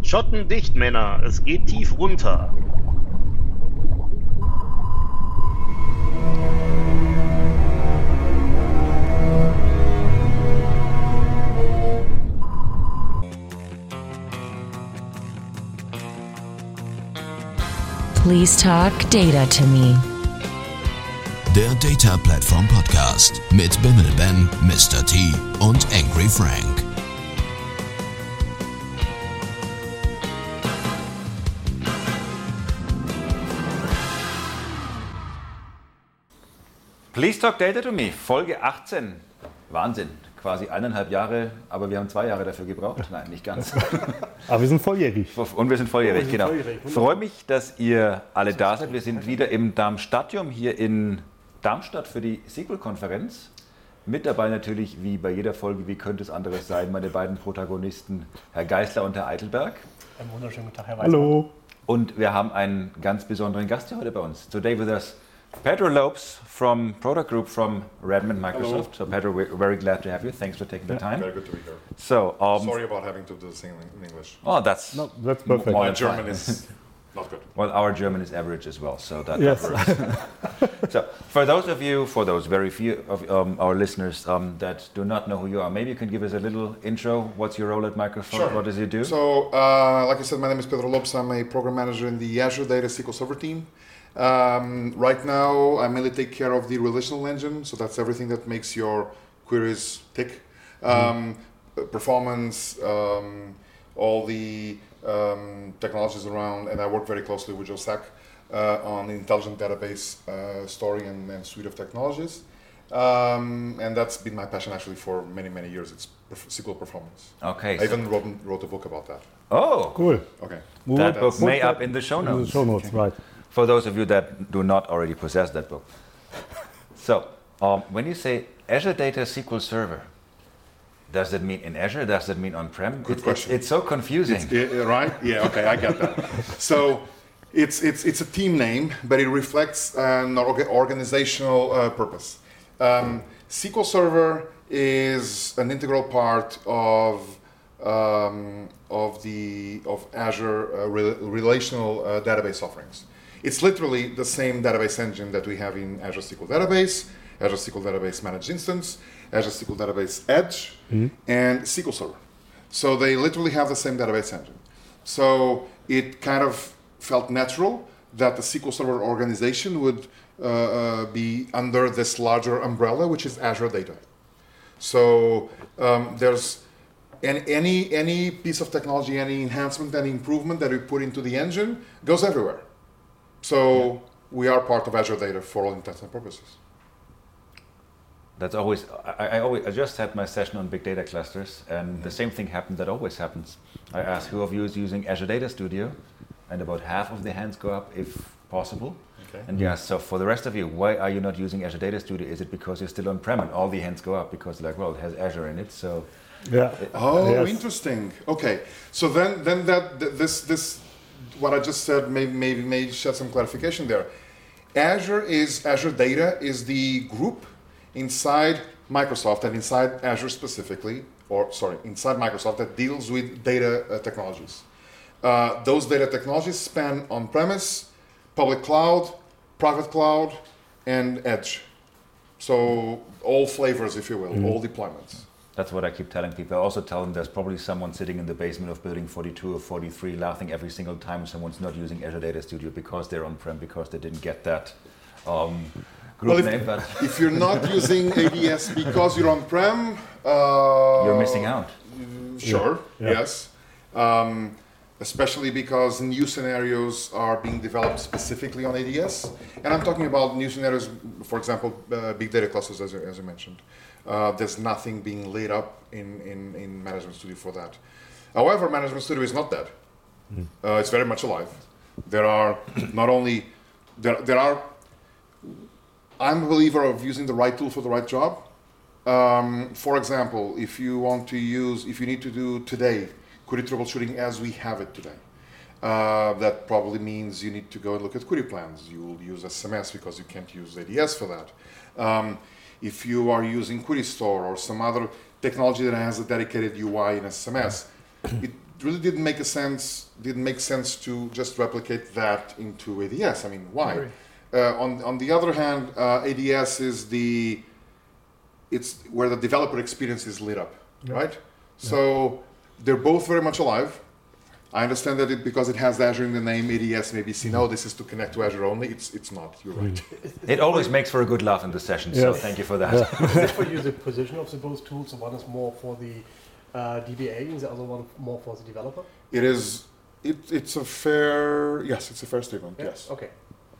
Schotten dicht, Männer. Es geht tief runter. Please talk data to me. Der Data Platform Podcast mit Bimmel Ben, Mr. T und Angry Frank. Please Talk Data to Me, Folge 18. Wahnsinn, quasi 1,5 Jahre, aber wir haben 2 Jahre dafür gebraucht. Nein, nicht ganz. Aber wir sind volljährig. Und wir sind volljährig, genau. Ich freue mich, dass ihr alle da seid. Wir sind wieder im Darmstadium hier in Darmstadt für die SQL-Konferenz. Mit dabei natürlich, wie bei jeder Folge, wie könnte es anderes sein, meine beiden Protagonisten, Herr Geisler und Herr Eitelberg. Einen wunderschönen guten Tag, Herr Weismann. Hallo. Und wir haben einen ganz besonderen Gast hier heute bei uns. Today with us, Pedro Lopes from Product Group from Redmond, Microsoft. Hello. So Pedro, we're very glad to have you. Thanks for taking the time. Very good to be here. So, sorry about having to do this in English. Oh, that's perfect. My German is not good. Well, our German is average as well, so that Yes. works. So, for those very few of our listeners that do not know who you are, maybe you can give us a little intro. What's your role at Microsoft? Sure. What does you do? So, like I said, my name is Pedro Lopes. I'm a program manager in the Azure Data SQL Server team. Right now, I mainly take care of the relational engine, so that's everything that makes your queries tick. Performance, all the technologies around, and I work very closely with Joe Sack on the intelligent database storing and suite of technologies. And that's been my passion actually for many, many years. It's SQL performance. Okay. I even wrote a book about that. Oh, Cool. Okay. that book may up in the show In the notes. show notes, right. For those of you that do not already possess that book. So, when you say Azure Data SQL Server, does that mean in Azure? Does that mean on-prem? Good question. It's so confusing. Right? Yeah. Okay, I get that. So, it's a team name, but it reflects an organizational purpose. SQL Server is an integral part of Azure relational database offerings. It's literally the same database engine that we have in Azure SQL Database, Azure SQL Database Managed Instance, Azure SQL Database Edge, and SQL Server. So they literally have the same database engine. So it kind of felt natural that the SQL Server organization would be under this larger umbrella, which is Azure Data. So there's any piece of technology, any enhancement, any improvement that we put into the engine goes everywhere. So we are part of Azure Data for all intents and purposes. That's always. I just had my session on big data clusters, and the same thing happened. That always happens. I asked who of you is using Azure Data Studio, and about half of the hands go up, if possible. Okay. And yeah, so for the rest of you, why are you not using Azure Data Studio? Is it because you're still on-prem? And all the hands go up because, like, well, it has Azure in it, so. Yeah. Oh, Yes. interesting. Okay, so then this what I just said may shed some clarification there. Azure Data is the group inside Microsoft and inside Azure specifically, inside Microsoft that deals with data technologies. Those data technologies span on-premise, public cloud, private cloud, and edge. So all flavors, if you will, all deployments. That's what I keep telling people. I also tell them there's probably someone sitting in the basement of building 42 or 43 laughing every single time someone's not using Azure Data Studio because they're on-prem, because they didn't get that group name. But If you're not using ADS because you're on-prem, you're missing out. Sure, Yeah. yes. Especially because new scenarios are being developed specifically on ADS. And I'm talking about new scenarios, for example, big data clusters, as you mentioned. There's nothing being lit up in Management Studio for that. However, Management Studio is not dead. It's very much alive. There are not only, I'm a believer of using the right tool for the right job. For example, if you need to do today, query troubleshooting as we have it today. That probably means you need to go and look at query plans. You will use SMS because you can't use ADS for that. If you are using Query Store or some other technology that has a dedicated UI in SMS, really didn't make sense to just replicate that into ADS. I mean, why? On the other hand, ADS is it's where the developer experience is lit up, right? So they're both very much alive. I understand that because it has Azure in the name, ADS maybe see, no, this is to connect to Azure only. It's not, you're right. It always makes for a good laugh in the session, so thank you for that. Is it for you the position of the both tools? The one is more for the DBA and the other one more for the developer? It is, it's a fair statement, yes. Okay.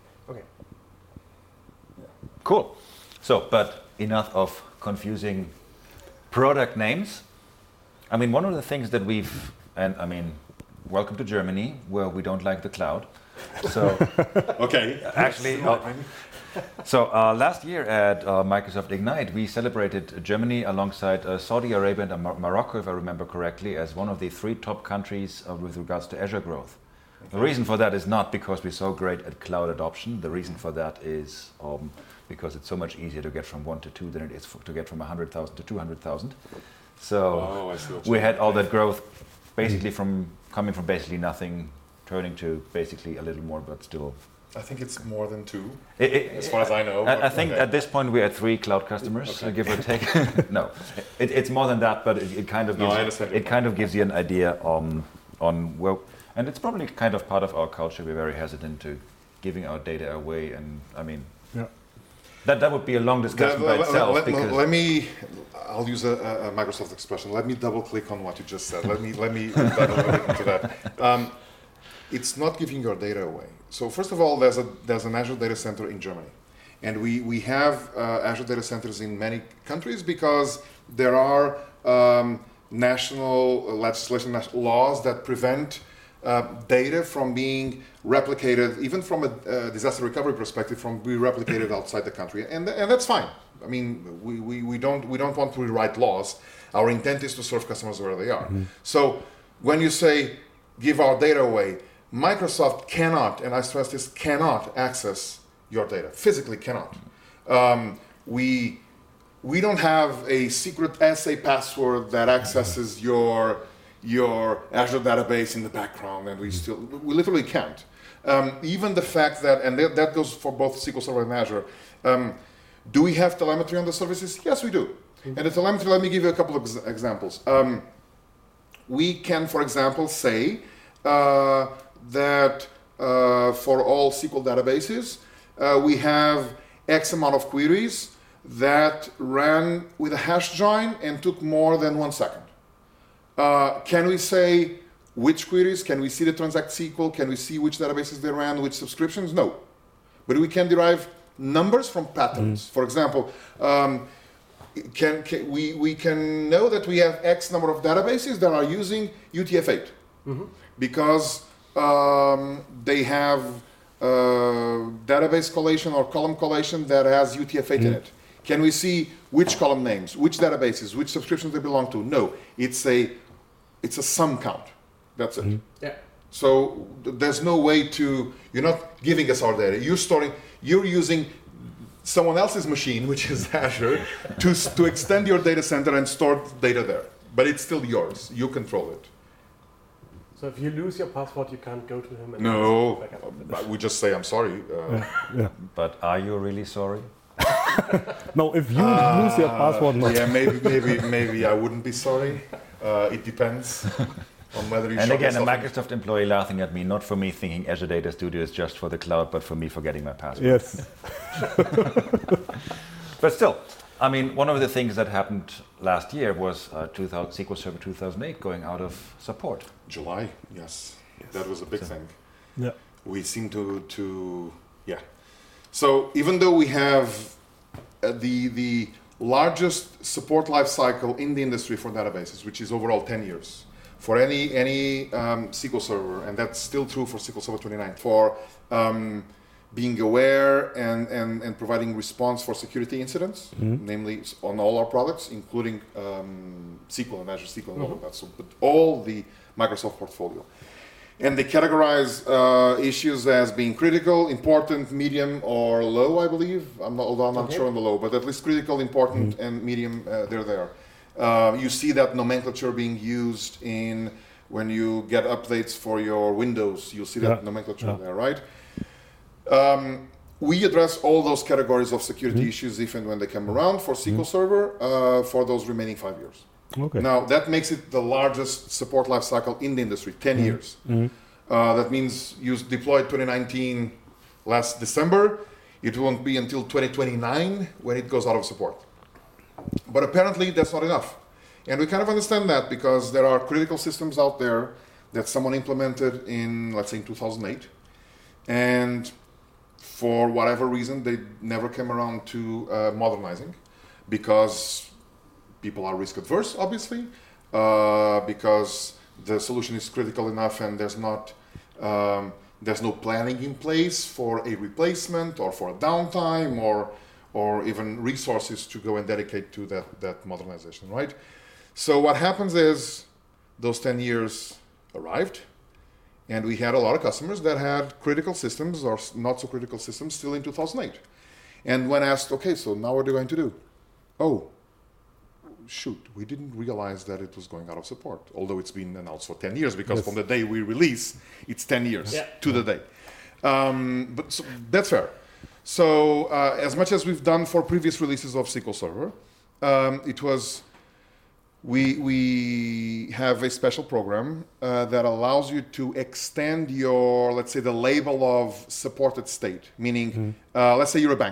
Cool. So, but enough of confusing product names. I mean, one of the things that welcome to Germany, where we don't like the cloud. So, okay. Actually, last year at Microsoft Ignite, we celebrated Germany alongside Saudi Arabia and Morocco, if I remember correctly, as one of the 3 top countries with regards to Azure growth. Okay. The reason for that is not because we're so great at cloud adoption. The reason for that is because it's so much easier to get from 1 to 2 than it is to get from 100,000 to 200,000. So we had all that growth basically coming from basically nothing, turning to basically a little more, but still. I think it's more than 2, as far as I know. I think at this point we're at 3 cloud customers, give or take. No, it's more than that, but it kind of gives you an idea on well, and it's probably kind of part of our culture. We're very hesitant to giving our data away, and I mean, that would be a long discussion by itself. I'll use a Microsoft expression. Let me double click on what you just said. Let me dive a little bit into that. It's not giving your data away. So first of all, there's an Azure data center in Germany, and we have Azure data centers in many countries because there are national legislation, national laws that prevent data from being replicated, even from a disaster recovery perspective, from being replicated outside the country, and that's fine. I mean, we don't want to rewrite laws. Our intent is to serve customers where they are. Mm-hmm. So when you say give our data away, Microsoft cannot, and I stress this, cannot access your data. Physically cannot. We don't have a secret SA password that accesses your Azure database in the background, and we literally can't. Even the fact that, and that goes for both SQL Server and Azure, do we have telemetry on the services? Yes, we do. Mm-hmm. And the telemetry, let me give you a couple of examples. We can, for example, say that for all SQL databases, we have X amount of queries that ran with a hash join and took more than 1 second. Can we say which queries? Can we see the Transact SQL? Can we see which databases they ran, which subscriptions? No. But we can derive numbers from patterns. For example, we can know that we have X number of databases that are using UTF-8 because they have database collation or column collation that has UTF-8 in it. Can we see which column names, which databases, which subscriptions they belong to? No, it's a sum count. That's it. Yeah. So there's no way to, you're not giving us our data. You're using someone else's machine, which is Azure, to extend your data center and store data there. But it's still yours. You control it. So if you lose your password, you can't go to him and no, we just say, I'm sorry. But are you really sorry? No, if you lose your password, no. Yeah, maybe I wouldn't be sorry. It depends on whether you. And again, a Microsoft employee laughing at me, not for me thinking Azure Data Studio is just for the cloud, but for me forgetting my password. Yes. But still, I mean, one of the things that happened last year was SQL Server 2008 going out of support. July, yes. That was a big thing. Yeah. We seem to. So even though we have the largest support lifecycle in the industry for databases, which is overall 10 years, for any SQL Server, and that's still true for SQL Server 29, for being aware and providing response for security incidents, namely on all our products, including SQL and Azure SQL and all of that, so but all the Microsoft portfolio. And they categorize issues as being critical, important, medium, or low, I believe. Although I'm not sure on the low, but at least critical, important, and medium, they're there. You see that nomenclature being used in when you get updates for your Windows, you'll see that nomenclature there, right? We address all those categories of security issues if and when they come around for SQL Server for those remaining 5 years. Okay. Now, that makes it the largest support lifecycle in the industry, 10 years. That means you deployed 2019 last December. It won't be until 2029 when it goes out of support. But apparently, that's not enough. And we kind of understand that because there are critical systems out there that someone implemented in, let's say, in 2008. And for whatever reason, they never came around to modernizing because people are risk adverse, obviously, because the solution is critical enough and there's no planning in place for a replacement or for a downtime or even resources to go and dedicate to that modernization, right? So what happens is those 10 years arrived, and we had a lot of customers that had critical systems or not so critical systems still in 2008. And when asked, okay, so now what are you going to do? Oh, shoot, we didn't realize that it was going out of support, although it's been announced for 10 years, because from the day we release, it's 10 years to the day. But so that's fair. So as much as we've done for previous releases of SQL Server, we have a special program that allows you to extend your, let's say, the label of supported state, meaning, let's say you're a bank.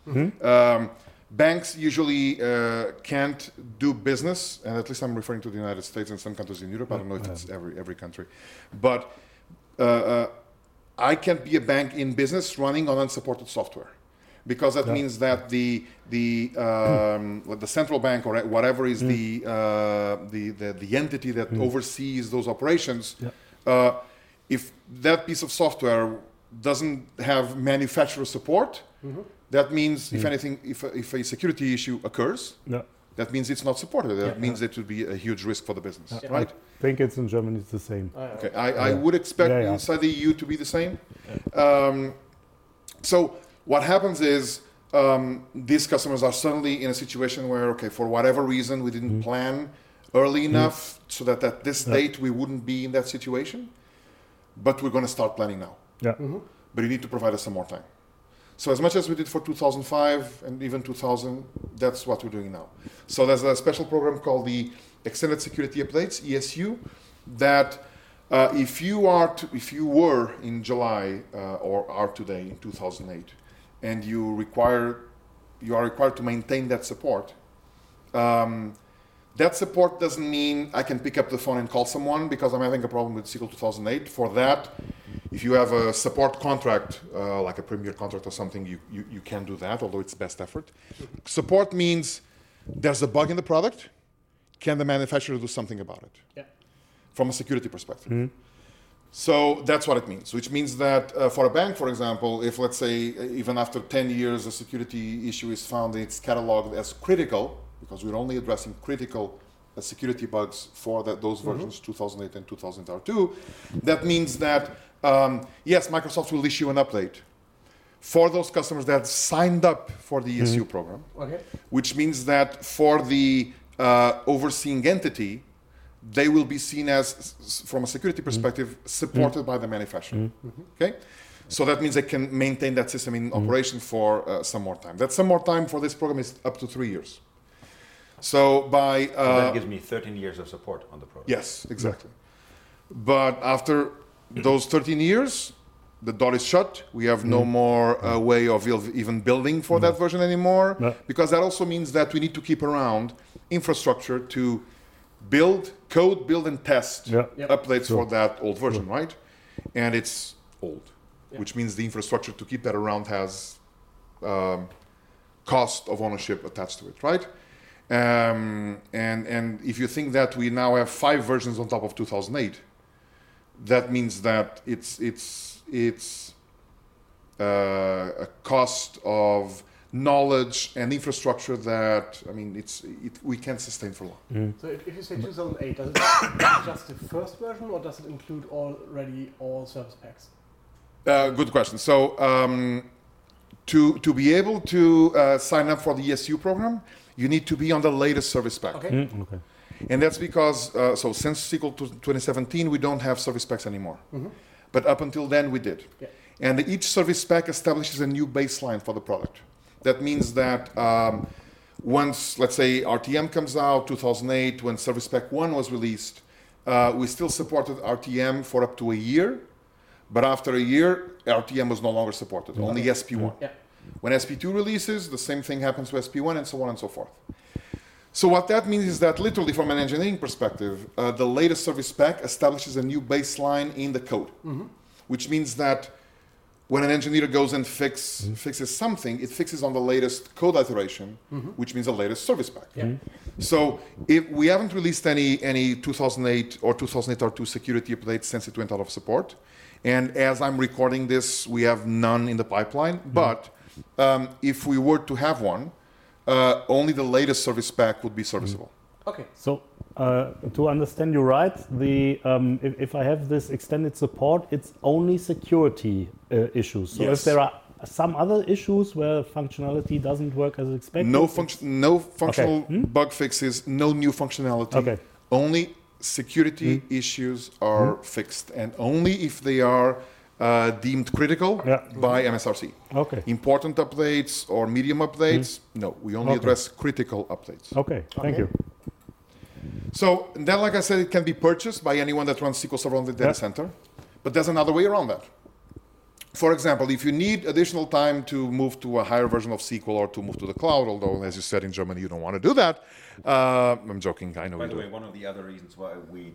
Banks usually can't do business, and at least I'm referring to the United States and some countries in Europe. I don't know if it's every country. But I can't be a bank in business running on unsupported software, because that means that the central bank or whatever is the entity that oversees those operations, if that piece of software doesn't have manufacturer support, that means if anything, if a security issue occurs, that means it's not supported. That means it would be a huge risk for the business, right? I think it's in Germany, it's the same. Okay, I would expect inside the EU to be the same. So what happens is these customers are suddenly in a situation where, okay, for whatever reason, we didn't plan early enough so that at this date we wouldn't be in that situation, but we're going to start planning now. But you need to provide us some more time. So as much as we did for 2005 and even 2000, that's what we're doing now. So there's a special program called the Extended Security Updates, ESU, that if you were in July or are today in 2008, and you are required to maintain that support, that support doesn't mean I can pick up the phone and call someone because I'm having a problem with SQL 2008. For that, if you have a support contract, like a Premier contract or something, you can do that, although it's best effort. Support means there's a bug in the product. Can the manufacturer do something about it? From a security perspective. So that's what it means, which means that for a bank, for example, if let's say even after 10 years a security issue is found and it's cataloged as critical, because we're only addressing critical security bugs for those versions, 2008 and 2002, that means that, yes, Microsoft will issue an update for those customers that signed up for the ESU program, which means that for the overseeing entity, they will be seen as, from a security perspective, supported by the manufacturer. Okay, so that means they can maintain that system in operation for some more time. That some more time for this program is up to 3 years. So by that gives me 13 years of support on the program. Yes, exactly. But after those 13 years, the door is shut. We have no more way of even building for that version anymore, because that also means that we need to keep around infrastructure to build and test updates for that old version, right? And it's old, which means the infrastructure to keep that around has cost of ownership attached to it, right? And if you think that we now have 5 versions on top of 2008, that means that it's a cost of knowledge and infrastructure that, I mean, we can't sustain for long. So if you say 2008, does it just the first version, or does it include already all service packs? Good question. So to be able to sign up for the ESU program, you need to be on the latest service pack. And that's because, so since SQL 2017, we don't have service packs anymore. But up until then, we did. Yeah. And each service pack establishes a new baseline for the product. That means that once, let's say, RTM comes out, 2008, when Service Pack 1 was released, we still supported RTM for up to a year. But after a year, RTM was no longer supported, only SP1. Yeah. When SP2 releases, the same thing happens to SP1 and so on and so forth. So what that means is that literally from an engineering perspective, the latest service pack establishes a new baseline in the code, which means that when an engineer goes and fixes something, it fixes on the latest code iteration, which means the latest service pack. Yeah. So if we haven't released any 2008 or 2008 R2 security updates since it went out of support. And as I'm recording this, we have none in the pipeline. But if we were to have one, only the latest service pack would be serviceable. Okay. So to understand you right, if I have this extended support, it's only security issues. So Yes. if there are some other issues where functionality doesn't work as expected, No functional bug fixes, no new functionality. Okay. Only security issues are fixed, and only if they are deemed critical by MSRC. Okay. Important updates or medium updates, no. We only address critical updates. Okay, thank you. So then, like I said, it can be purchased by anyone that runs SQL Server on the data center, but there's another way around that. For example, if you need additional time to move to a higher version of SQL or to move to the cloud, although, as you said, in Germany, you don't want to do that. I'm joking, I know By you the do. way, one of the other reasons why we,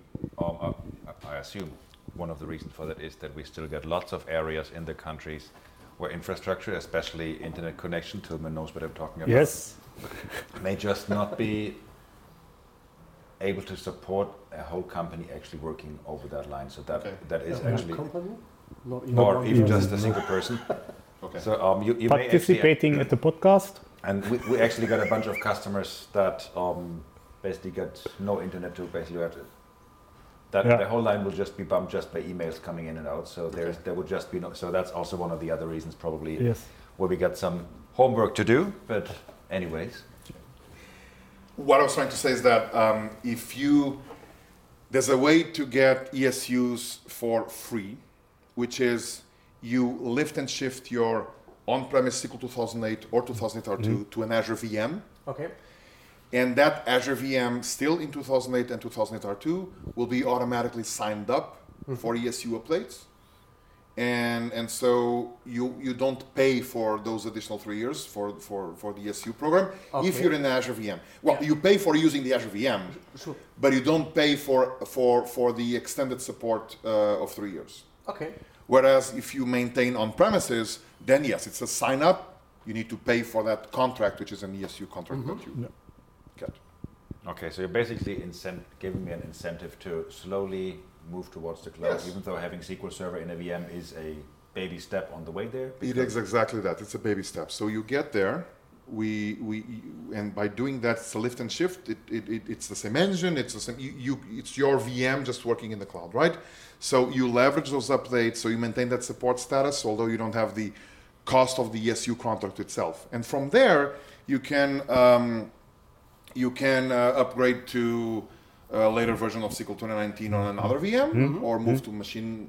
I assume one of the reasons for that is that we still get lots of areas in the countries where infrastructure, especially internet connection, Tilman knows what I'm talking about, Yes. may just not be able to support a whole company actually working over that line. So that Okay. that is Whole actually, company? Not even or one even person. just a single person. Okay. So you may actually, Participating at the podcast. and we actually got a bunch of customers that basically get no internet to basically have to, that Yeah. the whole line will just be bumped just by emails coming in and out. So there would just be no. So that's also one of the other reasons probably Yes. where we got some homework to do. But anyways, What I was trying to say is that there's a way to get ESUs for free, which is you lift and shift your on-premise SQL 2008 or 2008 R2 to an Azure VM. Okay. And that Azure VM still in 2008 and 2008 R2 will be automatically signed up for ESU updates. And so you don't pay for those additional 3 years for the ESU program if Okay. you're in the Azure VM. Well, you pay for using the Azure VM, Sure. but you don't pay for the extended support of 3 years. Okay. Whereas if you maintain on premises, then yes, it's a sign up. You need to pay for that contract, which is an ESU contract that you get. okay, so you're basically giving me an incentive to slowly move towards the cloud, Yes. even though having SQL Server in a VM is a baby step on the way there. It is exactly that. It's a baby step. So you get there. And by doing that, it's a lift and shift. It's the same engine. It's the same. It's your VM just working in the cloud, right? So you leverage those updates. So you maintain that support status, although you don't have the cost of the ESU contract itself. And from there, you can upgrade to a later version of SQL 2019 on another VM, or move to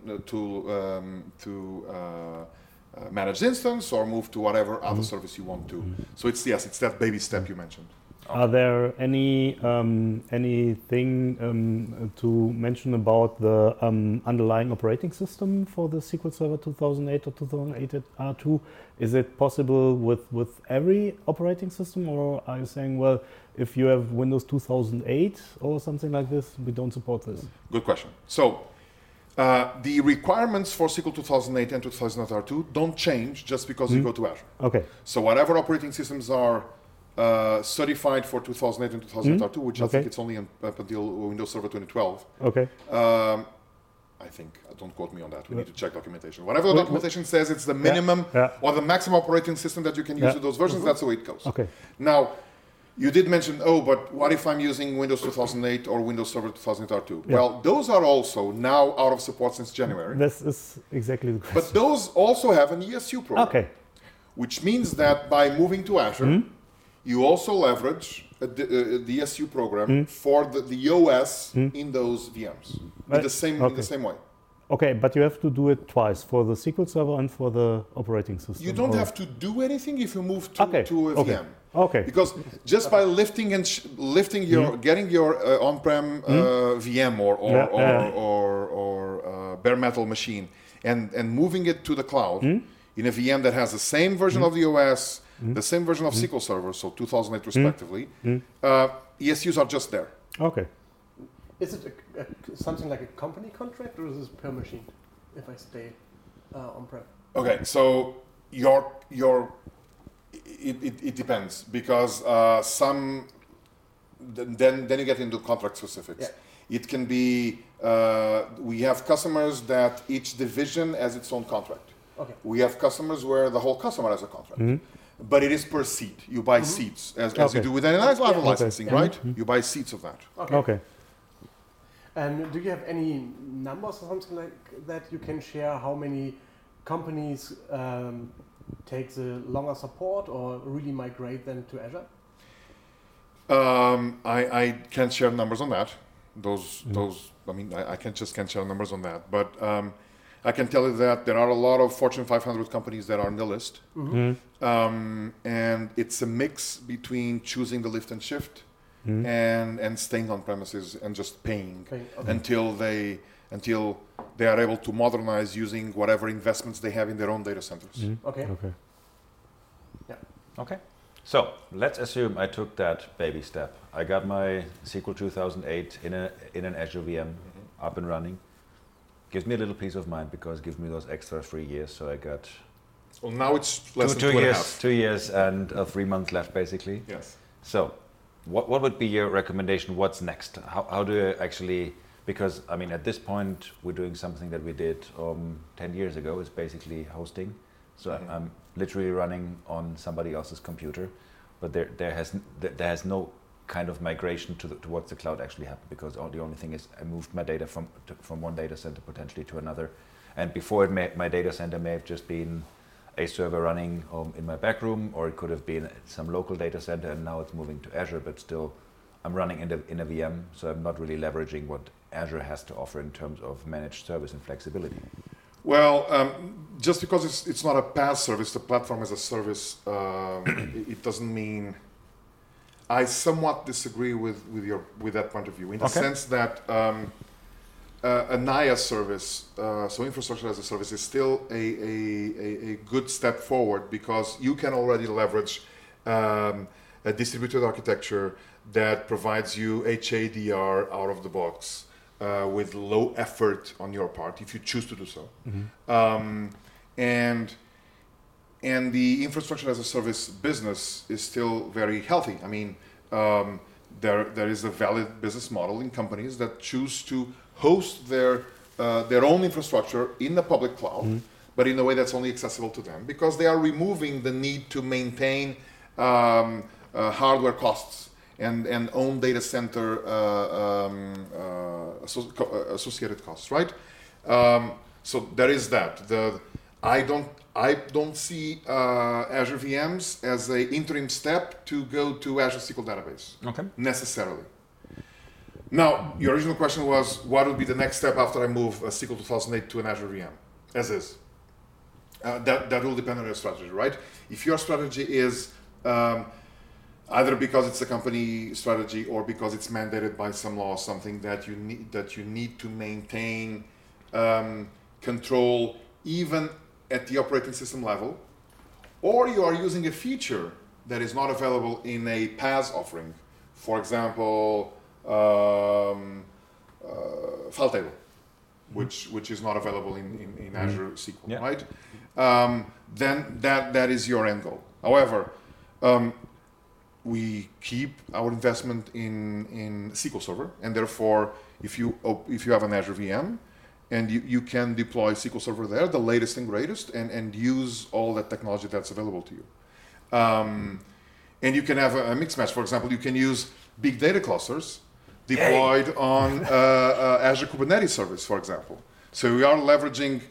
managed instance, or move to whatever other service you want to. So it's that baby step you mentioned. Are there anything to mention about the underlying operating system for the SQL Server 2008 or 2008 R2? Is it possible with every operating system, or are you saying, well, if you have Windows 2008 or something like this, we don't support this? Good question. So the requirements for SQL 2008 and 2008 R2 don't change just because you go to Azure. Okay. So whatever operating systems are certified for 2008 and 2008 R2, which I think it's only up until Windows Server 2012. Okay. I think, don't quote me on that, we need to check documentation. Whatever the documentation says, it's the minimum or the maximum operating system that you can use with those versions, that's the way it goes. Okay. Now, you did mention, but what if I'm using Windows 2008 or Windows Server 2008 R2? Yeah. Well, those are also now out of support since January. This is exactly the question. But those also have an ESU program. Okay. Which means that by moving to Azure, you also leverage a DSU program for the OS in those VMs in the same way. Okay, but you have to do it twice, for the SQL Server and for the operating system. You don't have to do anything if you move to a VM. Okay. Because just by lifting and getting your on-prem VM or bare metal machine and moving it to the cloud in a VM that has the same version of the OS, the same version of SQL Server, so 2008 respectively, ESUs are just there. Okay. Is it something like a company contract, or is this per machine if I stay on-prem? Okay, so it depends, because then you get into contract specifics. Yeah. It can be, we have customers that each division has its own contract. Okay. We have customers where the whole customer has a contract. But it is per seat. You buy seats, as you do with any other licensing, right? You buy seats of that. Okay. And do you have any numbers or something like that you can share? How many companies take the longer support or really migrate them to Azure? I can't share numbers on that. I can't share numbers on that. But I can tell you that there are a lot of Fortune 500 companies that are on the list. And it's a mix between choosing the lift and shift and staying on premises and just paying until they are able to modernize using whatever investments they have in their own data centers. Okay. Yeah. Okay. So let's assume I took that baby step. I got my SQL 2008 in an Azure VM up and running. Gives me a little peace of mind because it gives me those extra 3 years. So I got. Well, now it's less than 2.5. 2 years and 3 months left, basically. Yes. So, what would be your recommendation? What's next? How do you actually? Because I mean, at this point, we're doing something that we did 10 years ago. It's basically hosting. So I'm literally running on somebody else's computer, but there has no kind of migration towards the cloud actually happened, because the only thing is I moved my data from one data center potentially to another, and before my data center may have just been a server running in my back room, or it could have been some local data center, and now it's moving to Azure, but still I'm running in a VM, so I'm not really leveraging what Azure has to offer in terms of managed service and flexibility. Well, just because it's not a PaaS service, the platform as a service, it doesn't mean. I somewhat disagree with that point of view, in the sense that a NIaaS service, so infrastructure as a service, is still a good step forward, because you can already leverage a distributed architecture that provides you HADR out of the box with low effort on your part, if you choose to do so. And the infrastructure as a service business is still very healthy. I mean, there is a valid business model in companies that choose to host their own infrastructure in the public cloud, but in a way that's only accessible to them, because they are removing the need to maintain hardware costs and own data center associated costs, right? So there is that. I don't see Azure VMs as an interim step to go to Azure SQL Database, necessarily. Now, your original question was, what would be the next step after I move a SQL 2008 to an Azure VM, as is? That will depend on your strategy, right? If your strategy is either because it's a company strategy or because it's mandated by some law or something that you need to maintain control even at the operating system level, or you are using a feature that is not available in a PaaS offering, for example, file table, which is not available in Azure SQL, right? Then that is your end goal. However, we keep our investment in SQL Server, and therefore, if you have an Azure VM, and you can deploy SQL Server there, the latest and greatest, and use all that technology that's available to you. And you can have a mixed match. For example, you can use big data clusters deployed on Azure Kubernetes service, for example. So we are leveraging,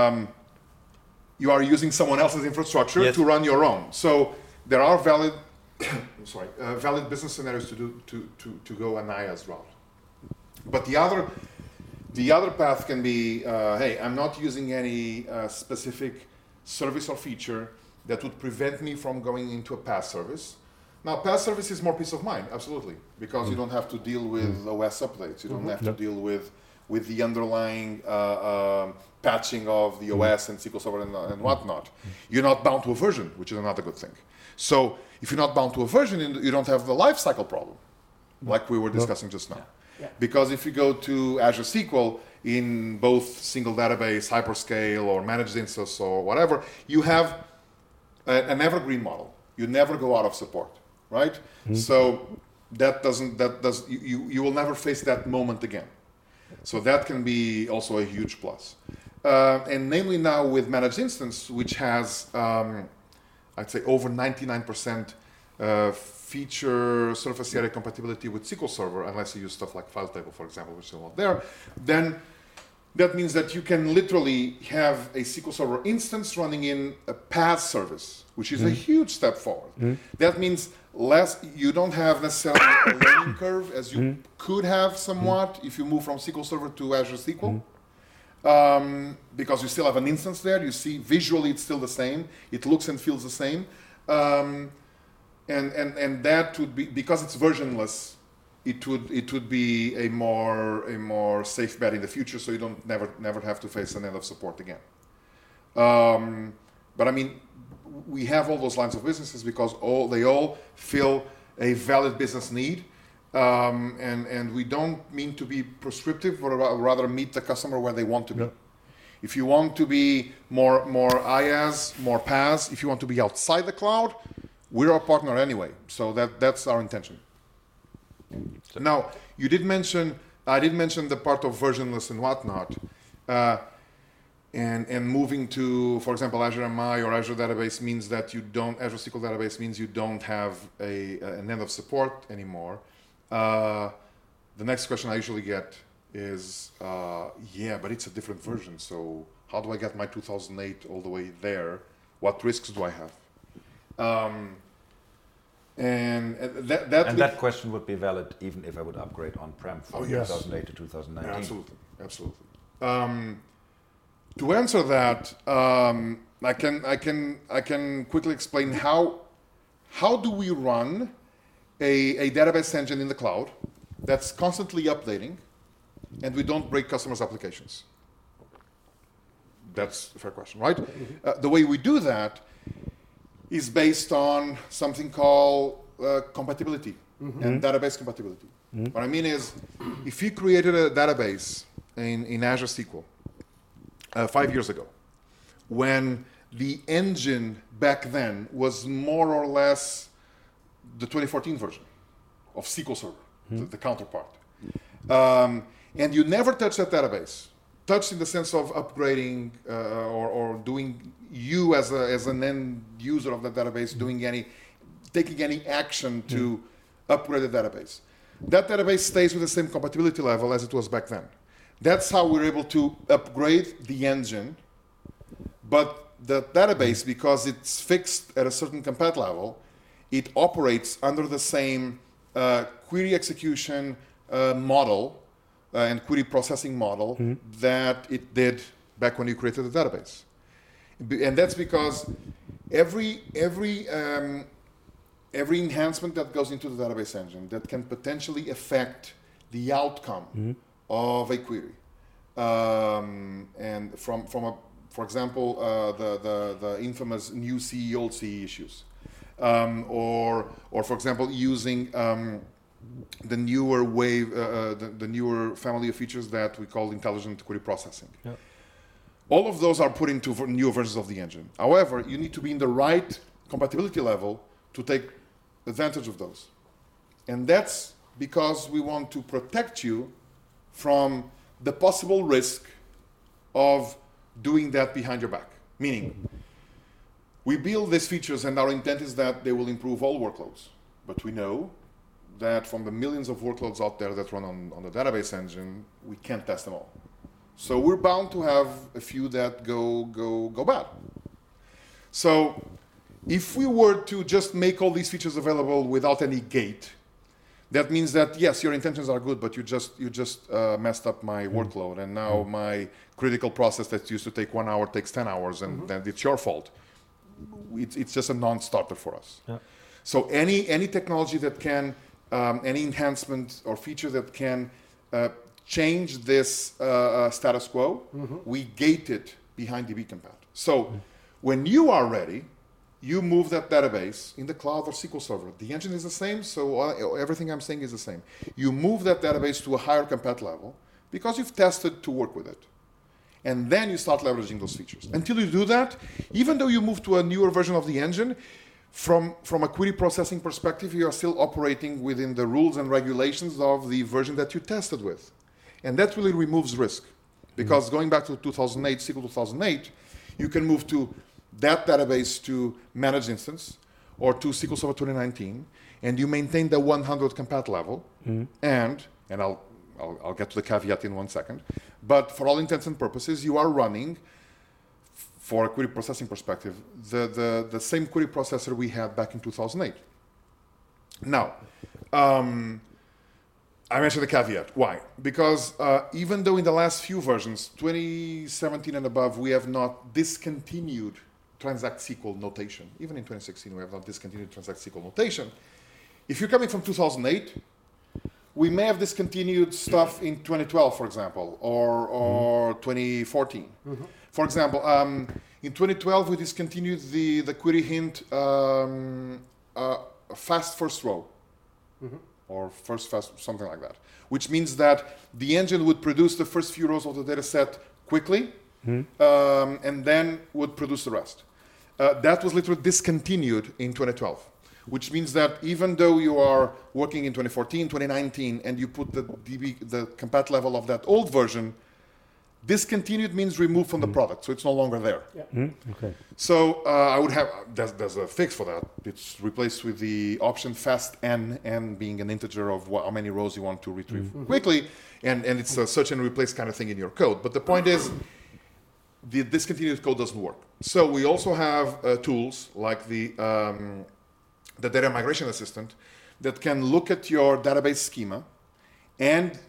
you are using someone else's infrastructure to run your own. So there are valid valid business scenarios to go an IaaS route. But the other path can be, hey, I'm not using any specific service or feature that would prevent me from going into a PaaS service. Now, PaaS service is more peace of mind, absolutely, because you don't have to deal with OS updates. You don't have to deal with the underlying patching of the OS and SQL Server and whatnot. You're not bound to a version, which is another good thing. So if you're not bound to a version, you don't have the lifecycle problem, like we were discussing just now. Yeah. Because if you go to Azure SQL in both single database, hyperscale, or managed instance, or whatever, you have an evergreen model. You never go out of support, right? So you will never face that moment again. So that can be also a huge plus. And namely now with managed instance, which has, I'd say over 99% feature surface area compatibility with SQL Server, unless you use stuff like file table, for example, which is not there, then that means that you can literally have a SQL Server instance running in a PaaS service, which is a huge step forward. That means you don't have necessarily a learning curve as you could have somewhat if you move from SQL Server to Azure SQL. Because you still have an instance there. You see visually it's still the same. It looks and feels the same. And that would be, because it's versionless, it would be a more safe bet in the future, so you don't never have to face an end of support again. But I mean, we have all those lines of businesses because they all fill a valid business need, and we don't mean to be prescriptive, but rather meet the customer where they want to be. If you want to be more IaaS, more PaaS, if you want to be outside the cloud, we're a partner anyway. So that's our intention. Now, I did mention the part of versionless and whatnot, and moving to, for example, Azure MI or Azure Database means that Azure SQL Database means you don't have an end of support anymore. The next question I usually get is, yeah, but it's a different version, so how do I get my 2008 all the way there? What risks do I have? And that question would be valid even if I would upgrade on-prem from 2008 to 2019. Yeah, absolutely. To answer that, I can quickly explain how do we run a database engine in the cloud that's constantly updating, and we don't break customers' applications. That's a fair question, right? The way we do that is based on something called compatibility and database compatibility. What I mean is, if you created a database in Azure SQL 5 years ago, when the engine back then was more or less the 2014 version of SQL Server, the counterpart, and you never touched that database, touched in the sense of upgrading or doing you as an end user of the database, taking any action to upgrade the database. That database stays with the same compatibility level as it was back then. That's how we're able to upgrade the engine, but the database, because it's fixed at a certain compat level, it operates under the same query execution model and query processing model that it did back when you created the database. And that's because every enhancement that goes into the database engine that can potentially affect the outcome of a query, and for example, the infamous new CE, old CE issues, or for example, using the newer wave, the newer family of features that we call intelligent query processing. Yeah. All of those are put into new versions of the engine. However, you need to be in the right compatibility level to take advantage of those. And that's because we want to protect you from the possible risk of doing that behind your back. Meaning, we build these features and our intent is that they will improve all workloads. But we know that from the millions of workloads out there that run on the database engine, we can't test them all. So we're bound to have a few that go bad. So If we were to just make all these features available without any gate, that means that yes, your intentions are good, but you just messed up my workload, and now my critical process that used to take 1 hour takes 10 hours, and then it's your fault. It's just a non-starter for us. Yeah. So any technology that can, any enhancement or feature that can change this status quo, we gate it behind dbcompat. So when you are ready, you move that database in the cloud or SQL Server. The engine is the same, so everything I'm saying is the same. You move that database to a higher compat level because you've tested to work with it. And then you start leveraging those features. Until you do that, even though you move to a newer version of the engine, from a query processing perspective, you are still operating within the rules and regulations of the version that you tested with. And that really removes risk. Because going back to 2008, SQL 2008, you can move to that database to managed instance or to SQL Server 2019, and you maintain the 100 compat level, and I'll get to the caveat in 1 second, but for all intents and purposes, you are running, for a query processing perspective, the same query processor we had back in 2008. Now, I mentioned the caveat. Why? Because even though in the last few versions, 2017 and above, we have not discontinued transact SQL notation. Even in 2016, we have not discontinued transact SQL notation. If you're coming from 2008, we may have discontinued stuff in 2012, for example, or 2014. For example, in 2012, we discontinued the query hint fast first row, or first fast, something like that, which means that the engine would produce the first few rows of the data set quickly, and then would produce the rest. That was literally discontinued in 2012, which means that even though you are working in 2014, 2019, and you put the compat level of that old version, discontinued means removed from the product, so it's no longer there. Okay. So I would have, there's a fix for that. It's replaced with the option fast n being an integer of how many rows you want to retrieve quickly, and it's a search and replace kind of thing in your code. But the point is, the discontinued code doesn't work. So we also have tools like the data migration assistant that can look at your database schema and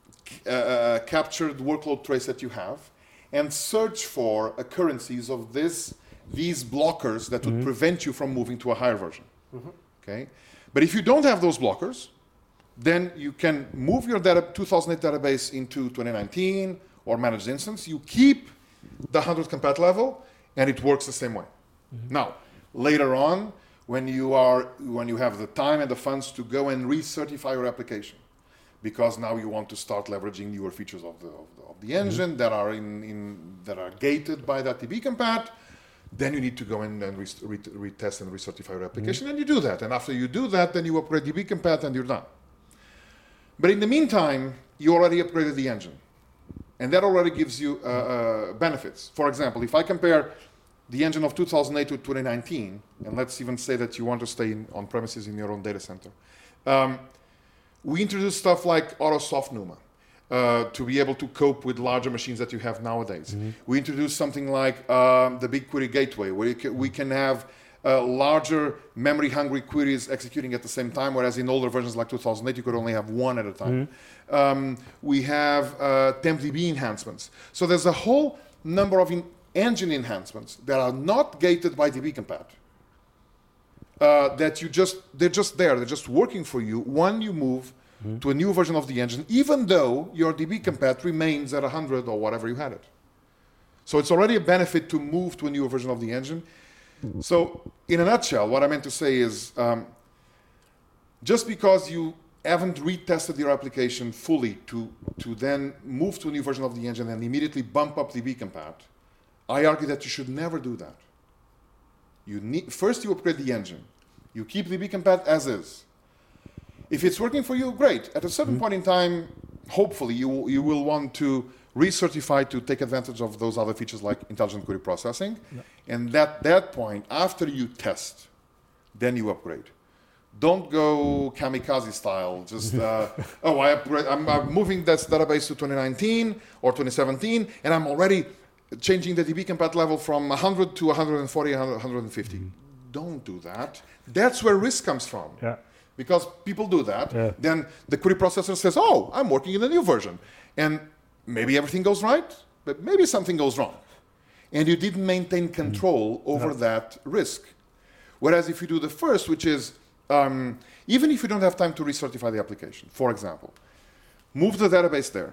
capture the workload trace that you have and search for occurrences of these blockers that would prevent you from moving to a higher version. Okay, but if you don't have those blockers, then you can move your 2008 database into 2019 or managed instance. You keep the 100 compat level, and it works the same way. Now, later on, when you have the time and the funds to go and recertify your application, because now you want to start leveraging newer features of the engine that are that are gated by that dbcompat, then you need to go in and retest and recertify your application, and you do that. And after you do that, then you upgrade dbcompat and you're done. But in the meantime, you already upgraded the engine, and that already gives you benefits. For example, if I compare the engine of 2008 to 2019, and let's even say that you want to stay on premises in your own data center, we introduced stuff like AutoSoft NUMA to be able to cope with larger machines that you have nowadays. We introduced something like the BigQuery Gateway, where we can have larger memory-hungry queries executing at the same time, whereas in older versions like 2008, you could only have one at a time. We have TempDB enhancements. So there's a whole number of engine enhancements that are not gated by dbcompat. That they're just there, they're just working for you when you move to a new version of the engine, even though your dbcompat remains at 100 or whatever you had it. So it's already a benefit to move to a newer version of the engine. So in a nutshell, what I meant to say is, just because you haven't retested your application fully to then move to a new version of the engine and immediately bump up dbcompat, I argue that you should never do that. First you upgrade the engine. You keep dbcompat as is. If it's working for you, great. At a certain point in time, hopefully you will want to recertify to take advantage of those other features like intelligent query processing. And at that point, after you test, then you upgrade. Don't go kamikaze style. Just, I'm moving this database to 2019 or 2017, and I'm already changing the dbcompat level from 100 to 140, 150. don't do that. That's where risk comes from. Yeah. Because people do that, Yeah. then the query processor says, oh, I'm working in a new version. And maybe everything goes right, but maybe something goes wrong. And you didn't maintain control over that risk. Whereas if you do the first, which is, even if you don't have time to recertify the application, for example, move the database there,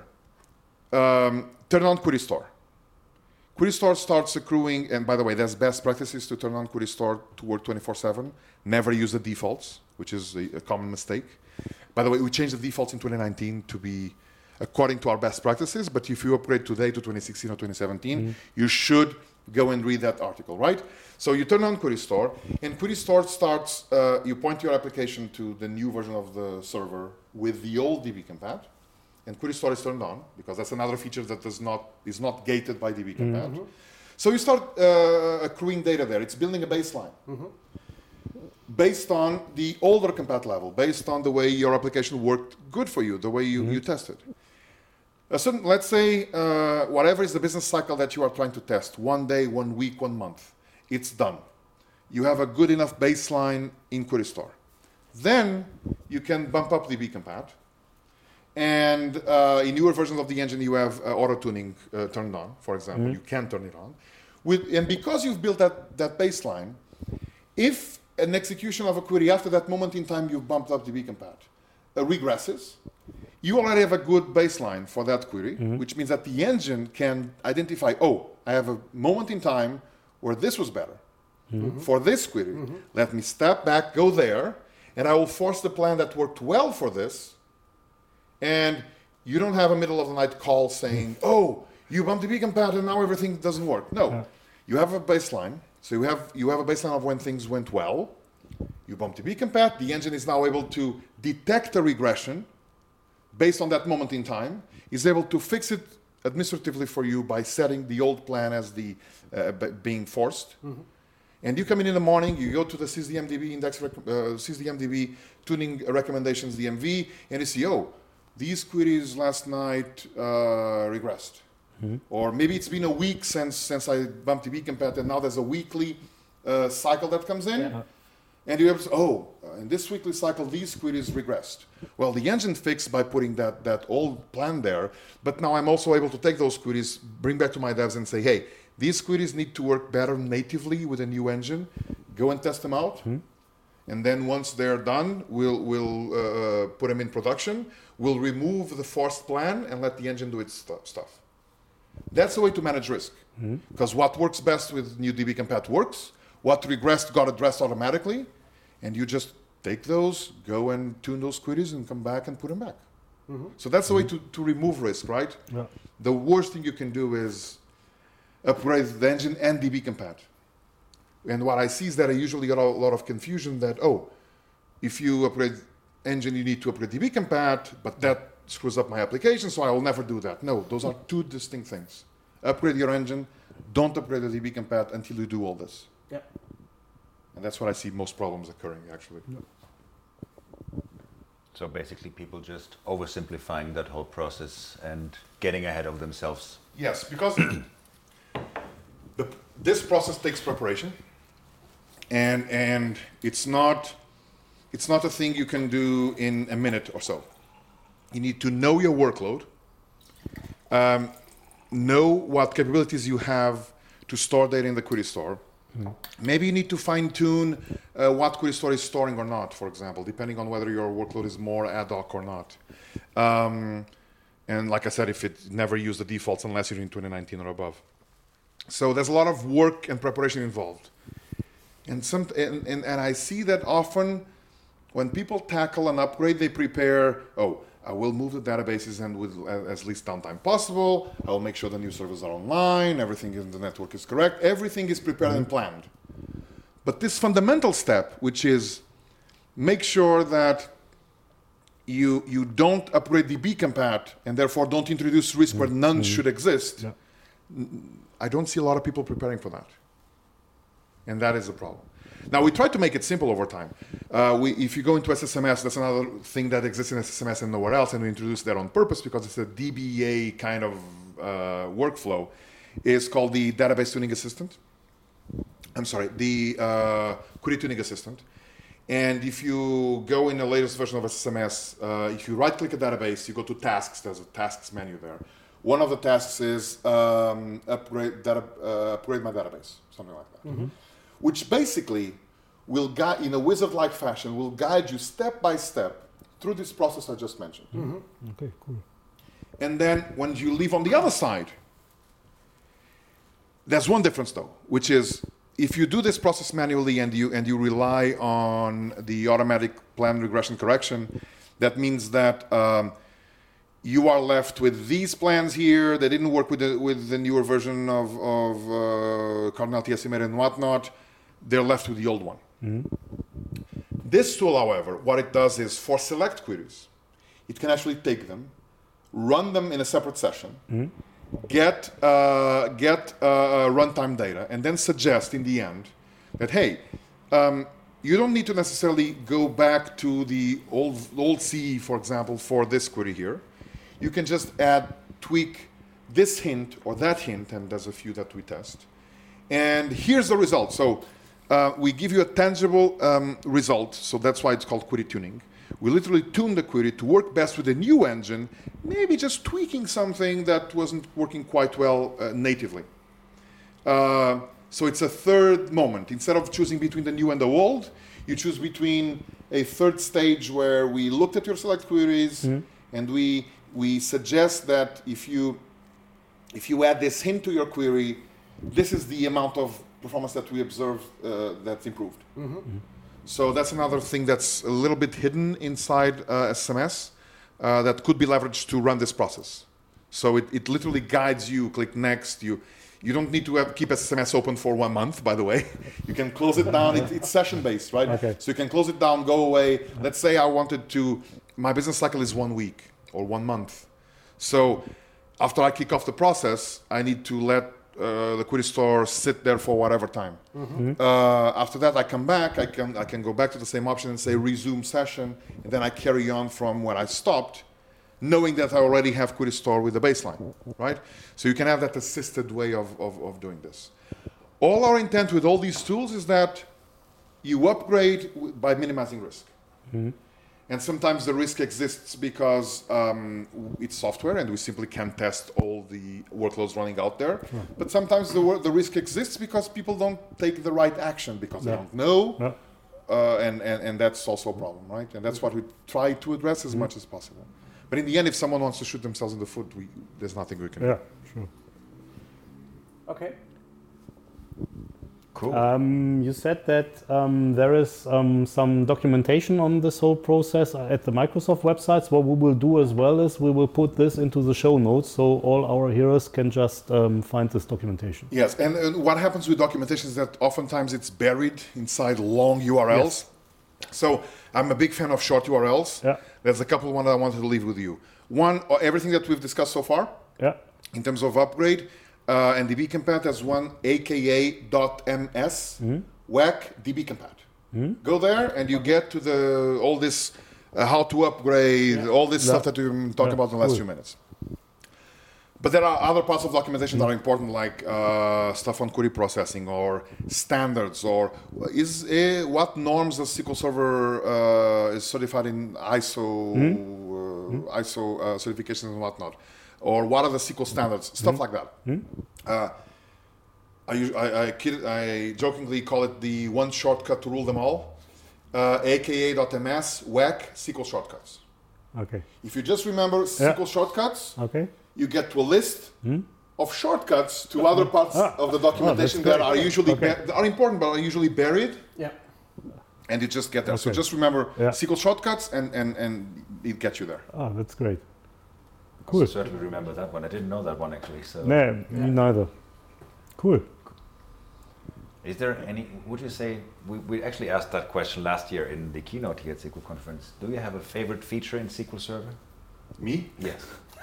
turn on Query Store. Query Store starts accruing, and by the way, there's best practices to turn on Query Store to work 24/7. Never use the defaults, which is a common mistake. By the way, we changed the defaults in 2019 to be according to our best practices, but if you upgrade today to 2016 or 2017, you should go and read that article, right? So you turn on Query Store, and Query Store starts, you point your application to the new version of the server with the old dbcompat, and Query Store is turned on, because that's another feature that is not gated by dbcompat. So you start accruing data there. It's building a baseline. Based on the older compat level, based on the way your application worked good for you, the way you tested. Let's say whatever is the business cycle that you are trying to test, 1 day, 1 week, 1 month, it's done. You have a good enough baseline in Query Store. Then you can bump up the dbcompat, and in newer versions of the engine you have auto-tuning turned on, for example. You can turn it on. And because you've built that baseline, if an execution of a query after that moment in time you've bumped up dbcompat regresses, you already have a good baseline for that query, which means that the engine can identify, oh, I have a moment in time where this was better. For this query, let me step back, go there, and I will force the plan that worked well for this. And you don't have a middle of the night call saying, oh, you bumped dbcompat and now everything doesn't work. No, you have a baseline. So you have a baseline of when things went well. You bump dbcompat. The engine is now able to detect a regression based on that moment in time. Is able to fix it administratively for you by setting the old plan as the being forced. And you come in the morning. You go to the sysdmdb index, sysdmdb tuning recommendations DMV, and you see, oh, these queries last night regressed. Or maybe it's been a week since I bumped dbcompat, and now there's a weekly cycle that comes in. And you have, in this weekly cycle, these queries regressed. Well, the engine fixed by putting that old plan there, but now I'm also able to take those queries, bring back to my devs and say, hey, these queries need to work better natively with a new engine. Go and test them out. And then once they're done, we'll put them in production. We'll remove the forced plan and let the engine do its stuff. That's the way to manage risk. Because what works best with new dbcompat works. What regressed got addressed automatically. And you just take those, go and tune those queries and come back and put them back. So that's the way to remove risk, right? The worst thing you can do is upgrade the engine and dbcompat. And what I see is that I usually get a lot of confusion that, if you upgrade engine, you need to upgrade dbcompat, but that screws up my application, so I will never do that. No, those are two distinct things. Upgrade your engine, don't upgrade the dbcompat until you do all this. And that's where I see most problems occurring, actually. So basically people just oversimplifying that whole process and getting ahead of themselves. Yes, because this process takes preparation, and it's not a thing you can do in a minute or so. You need to know your workload, know what capabilities you have to store data in the Query Store. Maybe you need to fine-tune what Query Store is storing or not, for example, depending on whether your workload is more ad hoc or not. And like I said, if it never use the defaults unless you're in 2019 or above. So there's a lot of work and preparation involved. And I see that often when people tackle an upgrade, they prepare, I will move the databases and with as least downtime possible. I will make sure the new servers are online, everything in the network is correct. Everything is prepared and planned. But this fundamental step, which is make sure that you don't upgrade dbcompat and therefore don't introduce risk where none should exist, I don't see a lot of people preparing for that. And that is a problem. Now, we try to make it simple over time. If you go into SSMS, that's another thing that exists in SSMS and nowhere else, and we introduced that on purpose because it's a DBA kind of workflow. It's called the Database Tuning Assistant. query tuning assistant. And if you go in the latest version of SMS, if you right-click a database, you go to tasks. There's a tasks menu there. One of the tasks is upgrade my database, something like that. Which basically will guide, in a wizard-like fashion, will guide you step by step through this process I just mentioned. Okay, cool. And then when you leave on the other side, there's one difference though, which is if you do this process manually and you rely on the automatic plan regression correction, that means that you are left with these plans here. They didn't work with the newer version of Cardinal TSM and whatnot. They're left with the old one. This tool, however, what it does is for select queries, it can actually take them, run them in a separate session, get runtime data, and then suggest in the end that, hey, you don't need to necessarily go back to the old CE, for example, for this query here. You can just tweak this hint or that hint, and there's a few that we test. And here's the result. So we give you a tangible result, so that's why it's called query tuning. We literally tune the query to work best with a new engine, maybe just tweaking something that wasn't working quite well natively. So it's a third moment. Instead of choosing between the new and the old, you choose between a third stage where we looked at your select queries and we suggest that if you add this hint to your query, this is the amount of performance that we observe that's improved. So that's another thing that's a little bit hidden inside SMS that could be leveraged to run this process. So it literally guides you, click next. You don't need to keep SMS open for 1 month, by the way. You can close it down. It's session-based, right? Okay. So you can close it down, go away. Let's say I wanted to, my business cycle is 1 week or 1 month. So after I kick off the process, I need to let the query store sit there for whatever time. After that, I come back. I can go back to the same option and say resume session, and then I carry on from where I stopped, knowing that I already have query store with the baseline, right? So you can have that assisted way of doing this. All our intent with all these tools is that you upgrade by minimizing risk. And sometimes the risk exists because it's software and we simply can't test all the workloads running out there. But sometimes the risk exists because people don't take the right action because they don't know. And that's also a problem, right? And that's what we try to address as much as possible. But in the end, if someone wants to shoot themselves in the foot, there's nothing we can do. Yeah, sure. Okay. Cool. You said that there is some documentation on this whole process at the Microsoft websites. What we will do as well is we will put this into the show notes so all our hearers can just find this documentation. Yes, and what happens with documentation is that oftentimes it's buried inside long URLs. Yes. So I'm a big fan of short URLs. Yeah. There's a couple ones I wanted to leave with you. One, everything that we've discussed so far, in terms of upgrade, and dbcompat has one aka.ms whack dbcompat. Go there and you get to all this how to upgrade, all this stuff that we've been talking about in the last few minutes. But there are other parts of documentation that are important, like stuff on query processing or standards, or what norms the SQL Server is certified in ISO certifications and whatnot, or what are the SQL standards, stuff like that. I jokingly call it the one shortcut to rule them all, aka.ms whack SQL shortcuts. Okay. If you just remember SQL shortcuts, you get to a list of shortcuts to other parts of the documentation that are usually are important but are usually buried. Yeah. And you just get there. So just remember SQL shortcuts and it gets you there. Oh, that's great. Cool. I certainly remember that one. I didn't know that one actually. So. No, me neither. Cool. Is there any, would you say, we actually asked that question last year in the keynote here at SQL Conference. Do you have a favorite feature in SQL Server? Me? Yes.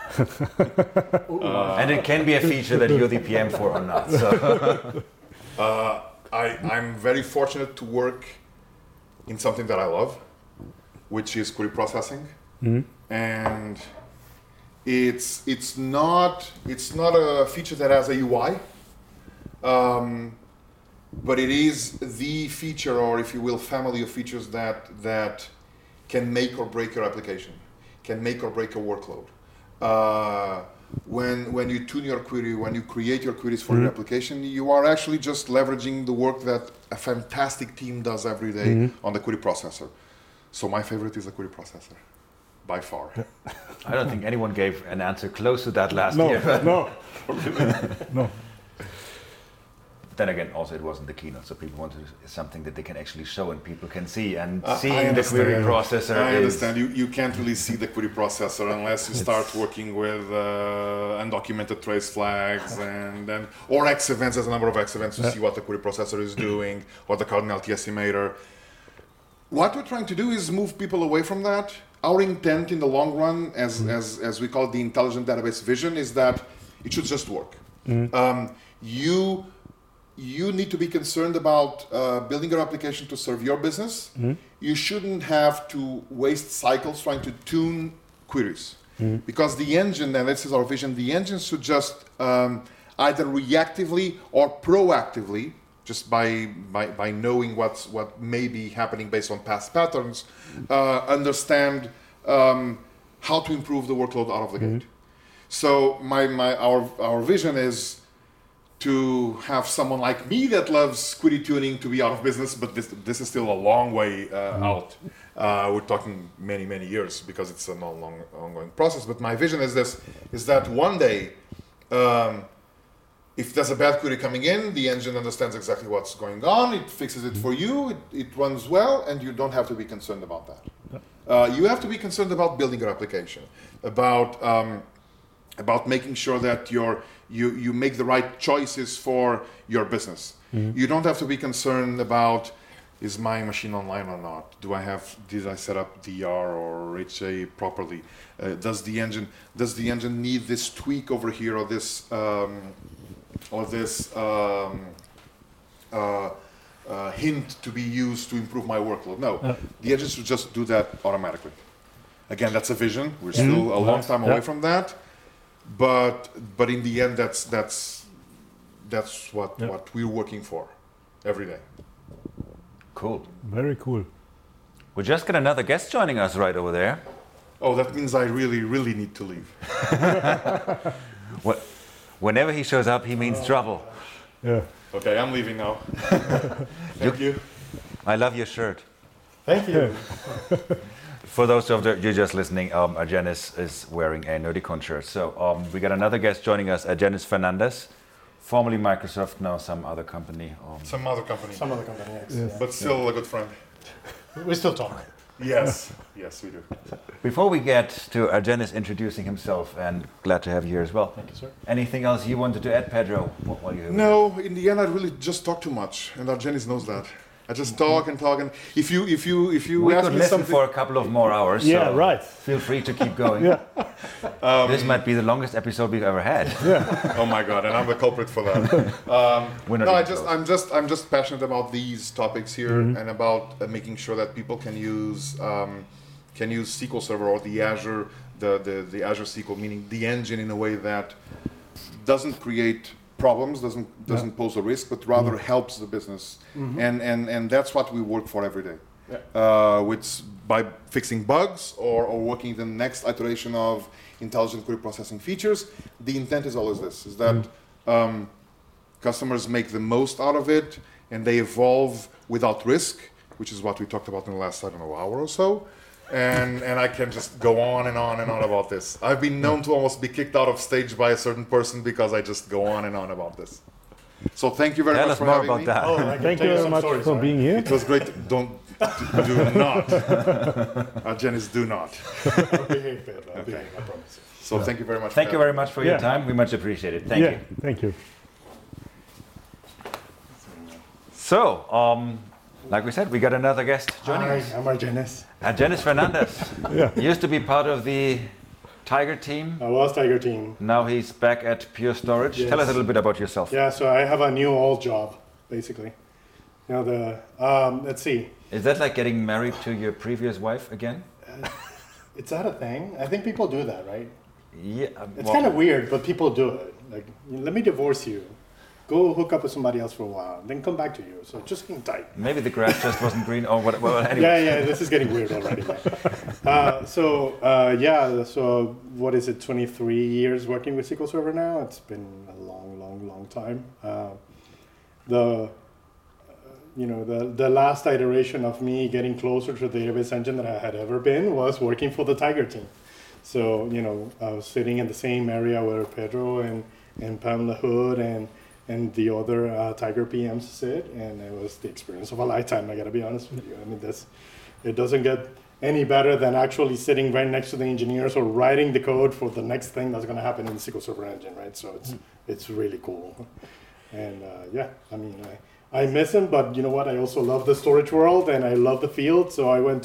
And it can be a feature that you're the PM for or not. So. I'm very fortunate to work in something that I love, which is query processing. And it's not a feature that has a UI. but it is the feature, or if you will, family of features that can make or break your application, can make or break a workload. When you tune your query, when you create your queries for your application, you are actually just leveraging the work that a fantastic team does every day on the query processor. So my favorite is the query processor, by far. I don't think anyone gave an answer close to that last year. No. No. Then again, also it wasn't the keynote, so people wanted something that they can actually show and people can see. And seeing the query processor I understand. You can't really see the query processor unless you start working with undocumented trace flags or X events. There's a number of X events to see what the query processor is doing, or the cardinality estimator. What we're trying to do is move people away from that. Our intent in the long run, as we call it, the intelligent database vision, is that it should just work. You need to be concerned about building your application to serve your business. You shouldn't have to waste cycles trying to tune queries. Because the engine, and this is our vision, the engine should just either reactively or proactively, just by knowing what may be happening based on past patterns, understand how to improve the workload out of the gate. So our vision is to have someone like me that loves query tuning to be out of business, but this is still a long way out. We're talking many years because it's a long ongoing process. But my vision is that one day, if there's a bad query coming in, the engine understands exactly what's going on, it fixes it for you, it runs well, and you don't have to be concerned about that. You have to be concerned about building your application, about making sure that you make the right choices for your business. You don't have to be concerned about, is my machine online or not? Did I set up DR or HA properly? Does the engine need this tweak over here or this hint to be used to improve my workload? No, the engine should just do that automatically. Again, that's a vision. We're still a long time away from that. But in the end, that's what we're working for every day. Cool. Very cool. We just got another guest joining us right over there. Oh, that means I really need to leave. Whenever he shows up, he means trouble. Yeah. Okay, I'm leaving now. Thank you. I love your shirt. Thank you. For those of you just listening, Argenis is wearing a Nerdicon shirt. So we got another guest joining us, Argenis Fernandez, formerly Microsoft, now some other company. Some other company. Yes. Yes. But still a good friend. We still talk. Yes, we do. Before we get to Argenis introducing himself, and glad to have you here as well. Thank you, sir. Anything else you wanted to add, Pedro? While you're here? No, in the end, I really just talk too much, and Argenis knows that. I just talk and talk, and if you We ask could me listen something, for a couple of more hours. Yeah, so right. Feel free to keep going. This might be the longest episode we've ever had. oh my God, and I'm the culprit for that. We're not No, even close. I'm just passionate about these topics here and about making sure that people can use SQL Server or the Azure, the Azure SQL, meaning the engine, in a way that doesn't create problems, doesn't pose a risk, but rather helps the business, and that's what we work for every day. Which by fixing bugs or working the next iteration of intelligent query processing features, the intent is always this: is that customers make the most out of it and they evolve without risk, which is what we talked about in the last, hour or so. And I can just go on and on and on about this. I've been known to almost be kicked out of stage by a certain person because I just go on and on about this. So thank you very much for having me. Tell us more about that. I can Thank tell you very some much stories, for sorry. being here. It was great. Do not. Argenis, do not. I'll behave, Pedro. I'll behave, I promise you. So thank you very much. Thank you very much for your Yeah. time. We much appreciate it. Thank you. Thank you. So, like we said, we got another guest joining Hi, us. I'm Argenis. Argenis Fernandez. Used to be part of the Tiger team. I was Tiger Team. Now he's back at Pure Storage. Yes. Tell us a little bit about yourself. Yeah, so I have a new old job, basically. You know, let's see. Is that like getting married to your previous wife again? Is that a thing? I think people do that, right? Yeah. It's kind of weird, but people do it. Like, let me divorce you. go hook up with somebody else for a while, then come back to you. So just hang tight. Maybe the grass just wasn't green. Oh, well, anyway. Yeah, this is getting weird already. So what is it? 23 years working with SQL Server now. It's been a long time. The last iteration of me getting closer to the database engine that I had ever been was working for the Tiger team. So, I was sitting in the same area where Pedro and Pamela Hood and the other Tiger PMs sit, and it was the experience of a lifetime, I gotta be honest with you. I mean, it doesn't get any better than actually sitting right next to the engineers or writing the code for the next thing that's gonna happen in the SQL Server engine, right? So it's really cool. And I miss him, but you know what? I also love the storage world and I love the field. So I went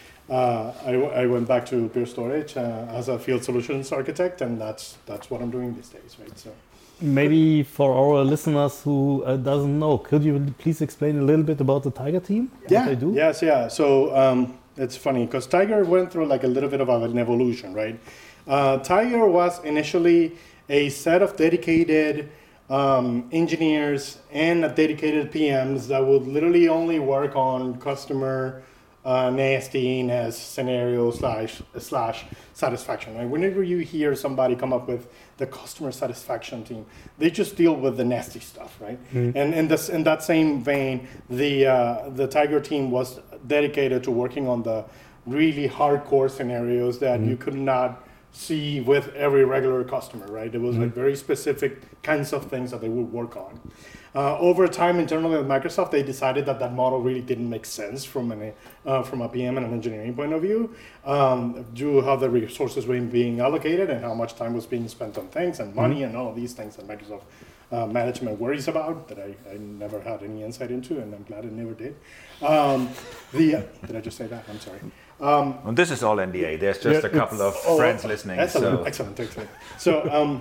back to Pure Storage as a field solutions architect, and that's what I'm doing these days, right? So maybe for our listeners who doesn't know, could you please explain a little bit about the Tiger team? Yeah. What they do? Yes. Yeah. So it's funny because Tiger went through like a little bit of an evolution, right? Tiger was initially a set of dedicated engineers and dedicated PMs that would literally only work on customer nastiness scenario slash satisfaction. Right? Whenever you hear somebody come up with the customer satisfaction team, they just deal with the nasty stuff, right? And in that same vein, the Tiger team was dedicated to working on the really hardcore scenarios that you could not see with every regular customer, right? It was like very specific kinds of things that they would work on. Over time, internally at Microsoft, they decided that model really didn't make sense from a PM and an engineering point of view, due to how the resources were being allocated and how much time was being spent on things and money and all of these things that Microsoft management worries about that I never had any insight into, and I'm glad I never did. Did I just say that? I'm sorry. And this is all NDA. There's just a couple of friends listening. Excellent. So,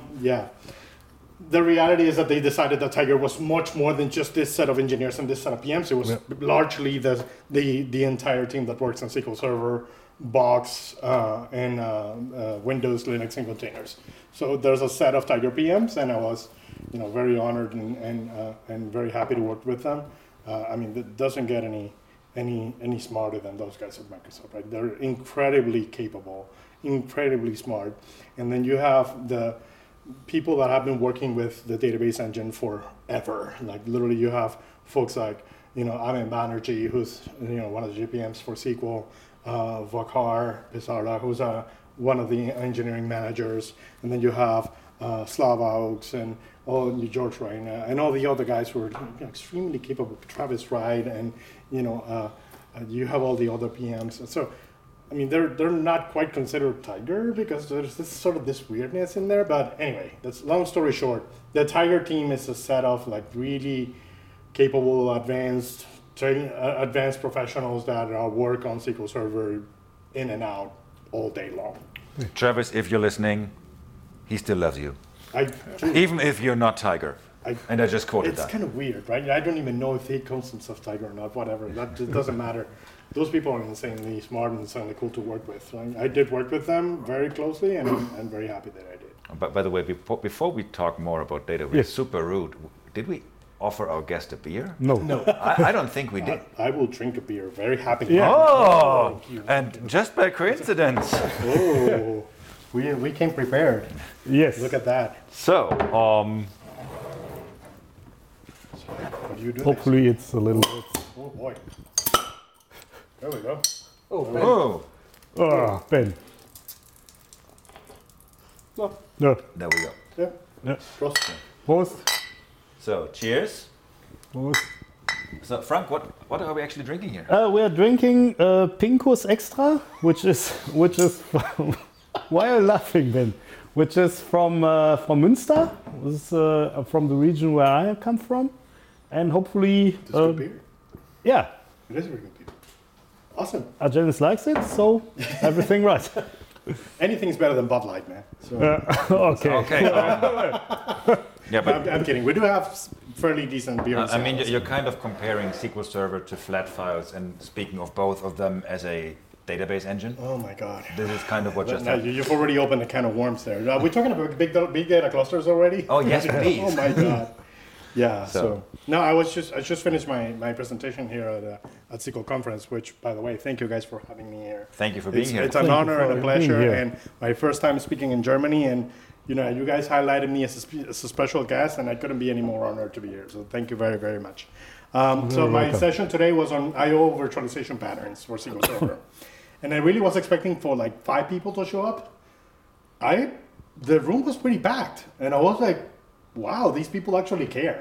the reality is that they decided that Tiger was much more than just this set of engineers and this set of PMs. It was largely the entire team that works on SQL Server, Box, and Windows, Linux, and containers. So there's a set of Tiger PMs, and I was, very honored and very happy to work with them. It doesn't get any smarter than those guys at Microsoft, right? They're incredibly capable, incredibly smart, and then you have the people that have been working with the database engine forever. Like literally, you have folks like Amin Banerjee, who's one of the GPMs for SQL, Vakhar Pisarla, who's one of the engineering managers, and then you have Slava Oaks and George Reina and all the other guys who are extremely capable. Travis Wright and you have all the other PMs. So they're not quite considered Tiger because there's this weirdness in there. But anyway, that's long story short. The Tiger team is a set of like really capable, advanced professionals that work on SQL Server in and out all day long. Travis, if you're listening, he still loves you. Even if you're not Tiger. And I just quoted that. It's kind of weird, right? I don't even know if he calls himself Tiger or not, whatever. That just doesn't matter. Those people are insanely smart and insanely cool to work with. So I did work with them very closely, and I'm very happy that I did. But by the way, before we talk more about data, we're super rude. Did we offer our guest a beer? No. I don't think we did. I will drink a beer very happily. Yeah. Oh, and just by coincidence. Oh, we came prepared. Yes. Look at that. So, hopefully it's a little bit. Oh boy. There we go. Oh, Ben. oh, Ben. No. No. There we go. Yeah. Prost. Prost. So, cheers. Prost. So, Frank, what are we actually drinking here? We are drinking Pinkus Extra, which is why are you laughing, Ben? Which is from Münster. This is from the region where I come from, and hopefully. It's good beer. Yeah. It is a very good beer. Awesome. Argenis likes it, so everything right. Anything's better than Bud Light, man. So. Okay. Okay. Yeah, but I'm kidding. We do have fairly decent beer. you're kind of comparing SQL Server to flat files, and speaking of both of them as a database engine. Oh my God. This is kind of what just happened. You've already opened a can of worms there. Are we talking about big data clusters already? Oh yes, please. Oh my God. Yeah. So no, I just finished my presentation here at SQL conference. Which, by the way, thank you guys for having me here. Thank you for being here. It's an honor and a pleasure, and my first time speaking in Germany. And you guys highlighted me as a special guest, and I couldn't be any more honored to be here. So thank you very, very much. So my session today was on I/O virtualization patterns for SQL Server, and I really was expecting for like 5 people to show up. The room was pretty packed, and I was like, wow, these people actually care.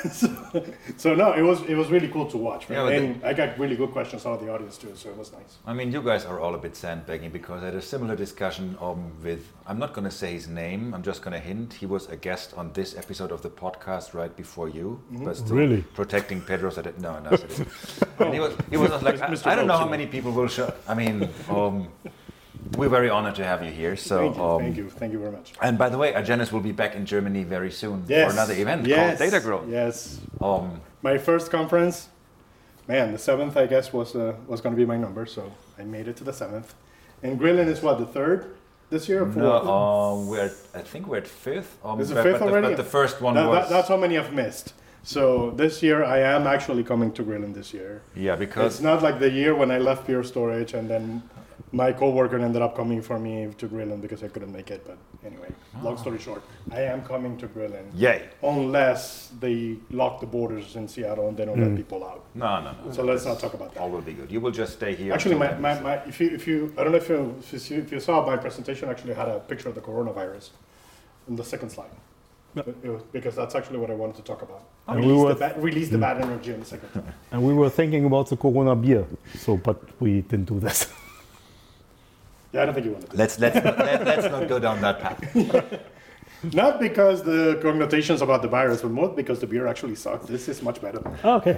so no, it was really cool to watch. Yeah, and I got really good questions out of the audience too, so it was nice. I mean, you guys are all a bit sandbagging, because I had a similar discussion with, I'm not going to say his name, I'm just going to hint, he was a guest on this episode of the podcast right before you, but still really protecting Pedro. So that, no. And he was like, I don't know how many people will show. I mean, we're very honored to have you here. So thank you very much. And by the way, Argenis will be back in Germany very soon for another event called Data Growth. Yes. My first conference, man, the 7th I guess was going to be my number, so I made it to the 7th. And Grillen is what, the 3rd this year? Or 4th? No, I think we're at 5th. Is it 5th already? But the first one was. That's how many I've missed. So this year I am actually coming to Grillen this year. Yeah, because it's not like the year when I left Pure Storage and then my coworker ended up coming for me to Grillen because I couldn't make it. But anyway, long story short, I am coming to Grillen. Yay! Unless they lock the borders in Seattle and they don't let people out. No. So let's not talk about that. All will be good. You will just stay here. Actually, if you I don't know if you saw my presentation, actually had a picture of the coronavirus in the second slide. Because that's actually what I wanted to talk about. Release the bad energy in the second slide. And we were thinking about the Corona beer, but we didn't do this. Yeah, I don't think you want to. Let's not go down that path. Not because the connotations about the virus, but more because the beer actually sucked. This is much better. Oh, okay.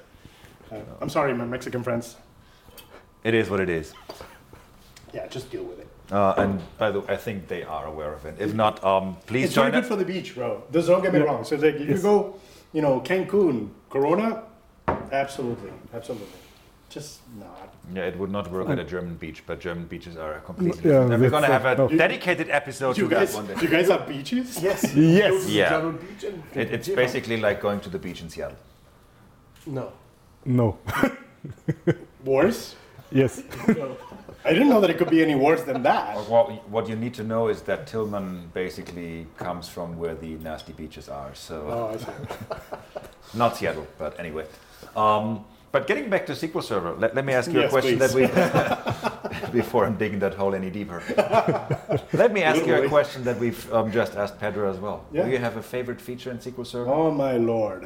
I'm sorry, my Mexican friends. It is what it is. Yeah, just deal with it. And by the way, I think they are aware of it. If not, please it's join very good for the beach, bro. Don't get me wrong. So if you go, Cancun, Corona, absolutely. Just not. Yeah, it would not work at a German beach, but German beaches are completely different. And we're going to have a dedicated episode to that one day. Do you guys have beaches? Yes. Yes. Yeah. It's basically like going to the beach in Seattle. No. Worse? Yes. I didn't know that it could be any worse than that. What you need to know is that Tillman basically comes from where the nasty beaches are. So I see. Not Seattle, but anyway. But getting back to SQL Server, let me ask you a question please. that we, before I'm digging that hole any deeper. Let me ask you a question that we've just asked Pedro as well. Yeah. Do you have a favorite feature in SQL Server? Oh my lord.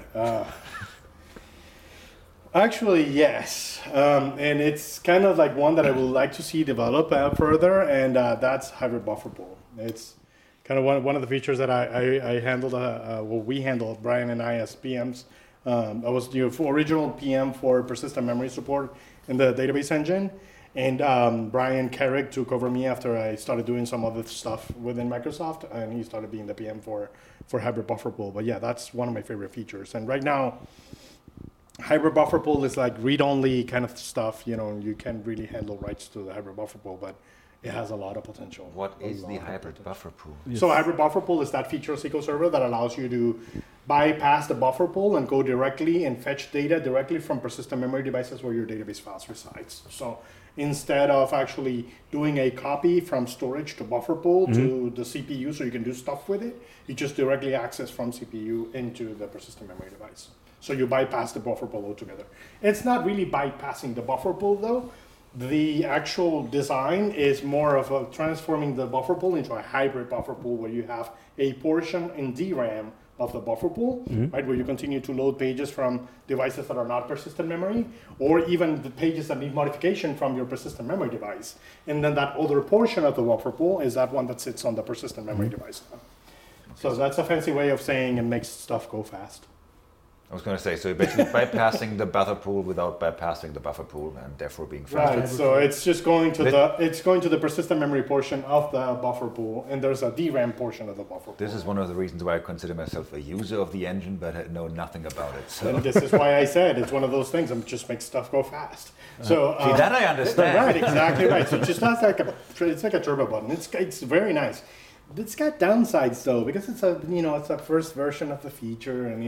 Actually, yes. And it's kind of like one that I would like to see develop further, and that's hybrid buffer pool. It's kind of one of the features that I handled, we handled, Brian and I as PMs. I was the original PM for persistent memory support in the database engine, and Brian Carrick took over me after I started doing some other stuff within Microsoft, and he started being the PM for hybrid buffer pool. But yeah, that's one of my favorite features. And right now, hybrid buffer pool is like read-only kind of stuff. You can't really handle writes to the hybrid buffer pool, but it has a lot of potential. What is the hybrid buffer pool? Yes. So hybrid buffer pool is that feature of SQL Server that allows you to bypass the buffer pool and go directly and fetch data directly from persistent memory devices where your database files resides. So instead of actually doing a copy from storage to buffer pool to the CPU so you can do stuff with it, you just directly access from CPU into the persistent memory device. So you bypass the buffer pool altogether. It's not really bypassing the buffer pool though. The actual design is more of transforming the buffer pool into a hybrid buffer pool where you have a portion in DRAM of the buffer pool, right, where you continue to load pages from devices that are not persistent memory, or even the pages that need modification from your persistent memory device. And then that other portion of the buffer pool is that one that sits on the persistent memory device. So that's a fancy way of saying it makes stuff go fast. I was going to say, so you're basically bypassing the buffer pool without bypassing the buffer pool, and therefore being faster. Right. So it's just going to the persistent memory portion of the buffer pool, and there's a DRAM portion of the buffer pool. This is one of the reasons why I consider myself a user of the engine, but I know nothing about it. So. And this is why I said it's one of those things that just makes stuff go fast. So see, that I understand. Right. Exactly right. So it just has it's like a turbo button. It's very nice. It's got downsides though, because it's a first version of the feature, and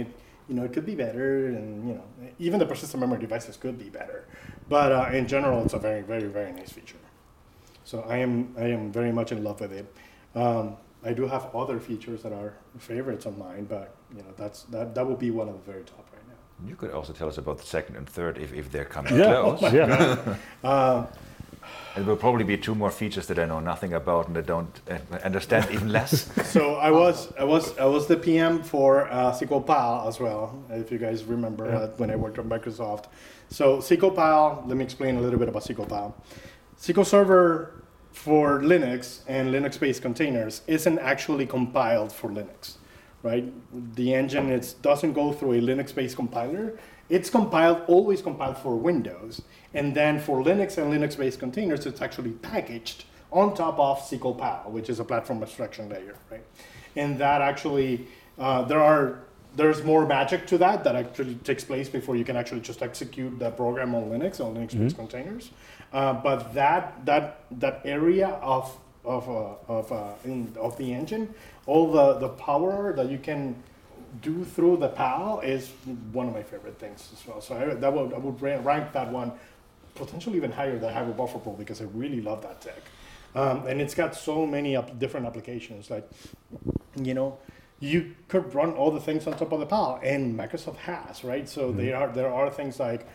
it could be better, and even the persistent memory devices could be better. But in general, it's a very, very, very nice feature. So I am very much in love with it. I do have other features that are favorites of mine, but that will be one of the very top right now. You could also tell us about the second and third if they're coming Yeah. close. Yeah. It will probably be 2 more features that I know nothing about and I don't understand even less. So I was the PM for SQL PAL as well, if you guys remember when I worked on Microsoft. So SQL PAL, let me explain a little bit about SQL PAL. SQL Server for Linux and Linux-based containers isn't actually compiled for Linux, right? The engine doesn't go through a Linux-based compiler. It's always compiled for Windows. And then for Linux and Linux-based containers, it's actually packaged on top of SQL PAL, which is a platform abstraction layer, right? And that actually, there's more magic to that actually takes place before you can actually just execute the program on Linux, on Linux-based containers. But that area of the engine, all the power that you can do through the PAL is one of my favorite things as well. So I would rank that one potentially even higher than Hybrid Buffer Pool because I really love that tech. And it's got so many different applications. Like, you could run all the things on top of the PAL, and Microsoft has, right? So there are things like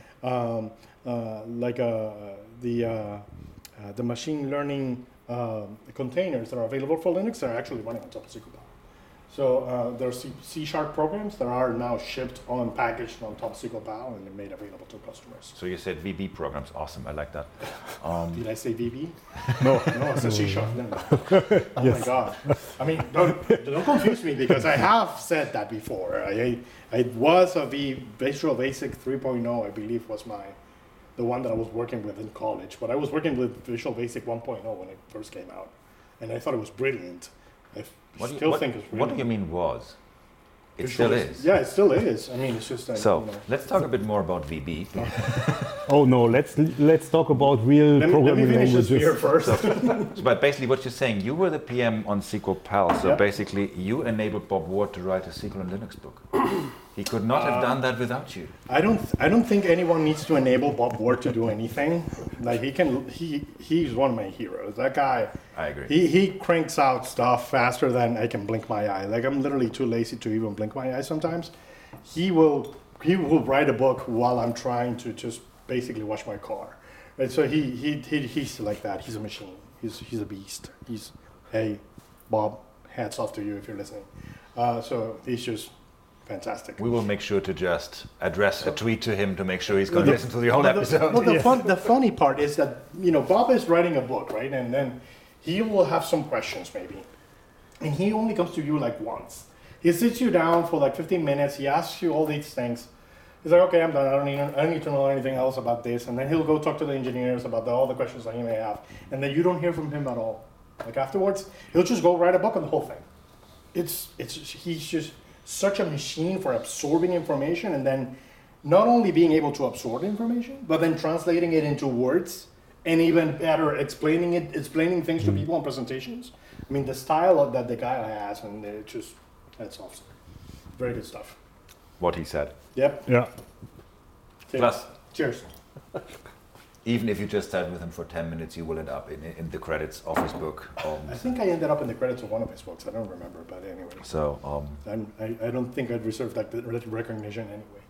the machine learning containers that are available for Linux that are actually running on top of SQL PAL. So there are C# programs that are now shipped packaged on top of SQL PAL and made available to customers. So you said VB programs, awesome, I like that. Did I say VB? No. No, it's a C#. No. Oh my God. I mean, don't confuse me because I have said that before. I was a Visual Basic 3.0, I believe was the one that I was working with in college. But I was working with Visual Basic 1.0 when it first came out. And I thought it was brilliant. Think it's brilliant. What do you mean was? It Visual still is. Yeah, it still is. I mean, it's just like, So let's talk a bit more about VB. Oh no, let's talk about real Let me programming finish this beer languages. first. But basically what you're saying, you were the PM on SQL PAL, so Yep. basically you enabled Bob Ward to write a SQL and Linux book. He could not have done that without you. I don't think anyone needs to enable Bob Ward to do anything. Like he's one of my heroes. That guy. I agree. He cranks out stuff faster than I can blink my eye. Like I'm literally too lazy to even blink my eye sometimes. He will write a book while I'm trying to just basically wash my car. And so he's like that. He's a machine. He's a beast. Hey, Bob, hats off to you if you're listening. So he's just fantastic. We will make sure to just address a tweet to him to make sure he's going to listen to the whole episode. The funny part is that Bob is writing a book, right? And then he will have some questions maybe, and he only comes to you like once. He sits you down for like 15 minutes. He asks you all these things. He's like, okay, I'm done. I don't need to know anything else about this. And then he'll go talk to the engineers about all the questions that he may have. And then you don't hear from him at all. Like afterwards, he'll just go write a book on the whole thing. He's just such a machine for absorbing information and then not only being able to absorb information, but then translating it into words and even better explaining things to people in presentations. I mean, the style that the guy has, and that's awesome. Very good stuff. What he said. Yep. Yeah. Plus, Cheers. even if you just sat with him for 10 minutes, you will end up in the credits of his book. I think I ended up in the credits of one of his books. I don't remember, but anyway. So, I don't think I'd reserve that recognition anyway.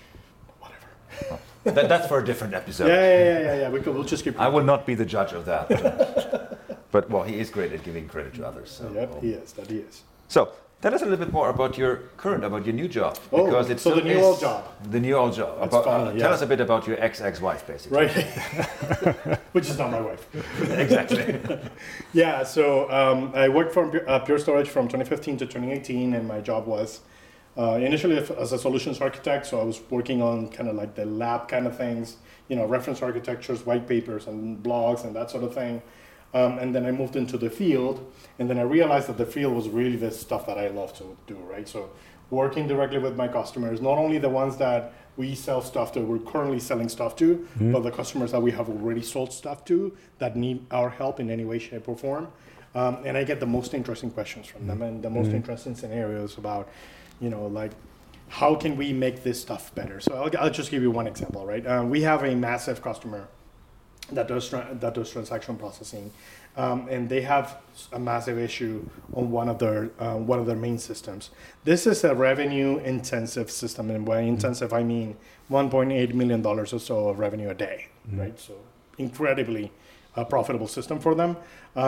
Whatever. that's for a different episode. Yeah. We'll just keep. I will not be the judge of that. But well, he is great at giving credit to others. So, Yep, he is. That he is. So, tell us a little bit more about your new job. Because it's the new old job. The new old job. That's funny, Tell us a bit about your ex-wife, basically. Right. Which is not my wife. Exactly. Yeah, so I worked for Pure Storage from 2015 to 2018, and my job was initially as a solutions architect, so I was working on kind of like the lab kind of things, reference architectures, white papers, and blogs, and that sort of thing. And then I moved into the field, and then I realized that the field was really the stuff that I love to do, right? So working directly with my customers, not only the ones that we sell stuff to, we're currently selling stuff to, but the customers that we have already sold stuff to that need our help in any way, shape, or form. And I get the most interesting questions from them and the most interesting scenarios about, like how can we make this stuff better? So I'll just give you one example, right? We have a massive customer that does transaction processing, and they have a massive issue on one of their main systems. This is a revenue-intensive system, and by intensive I mean $1.8 million or so of revenue a day, right? So incredibly profitable system for them,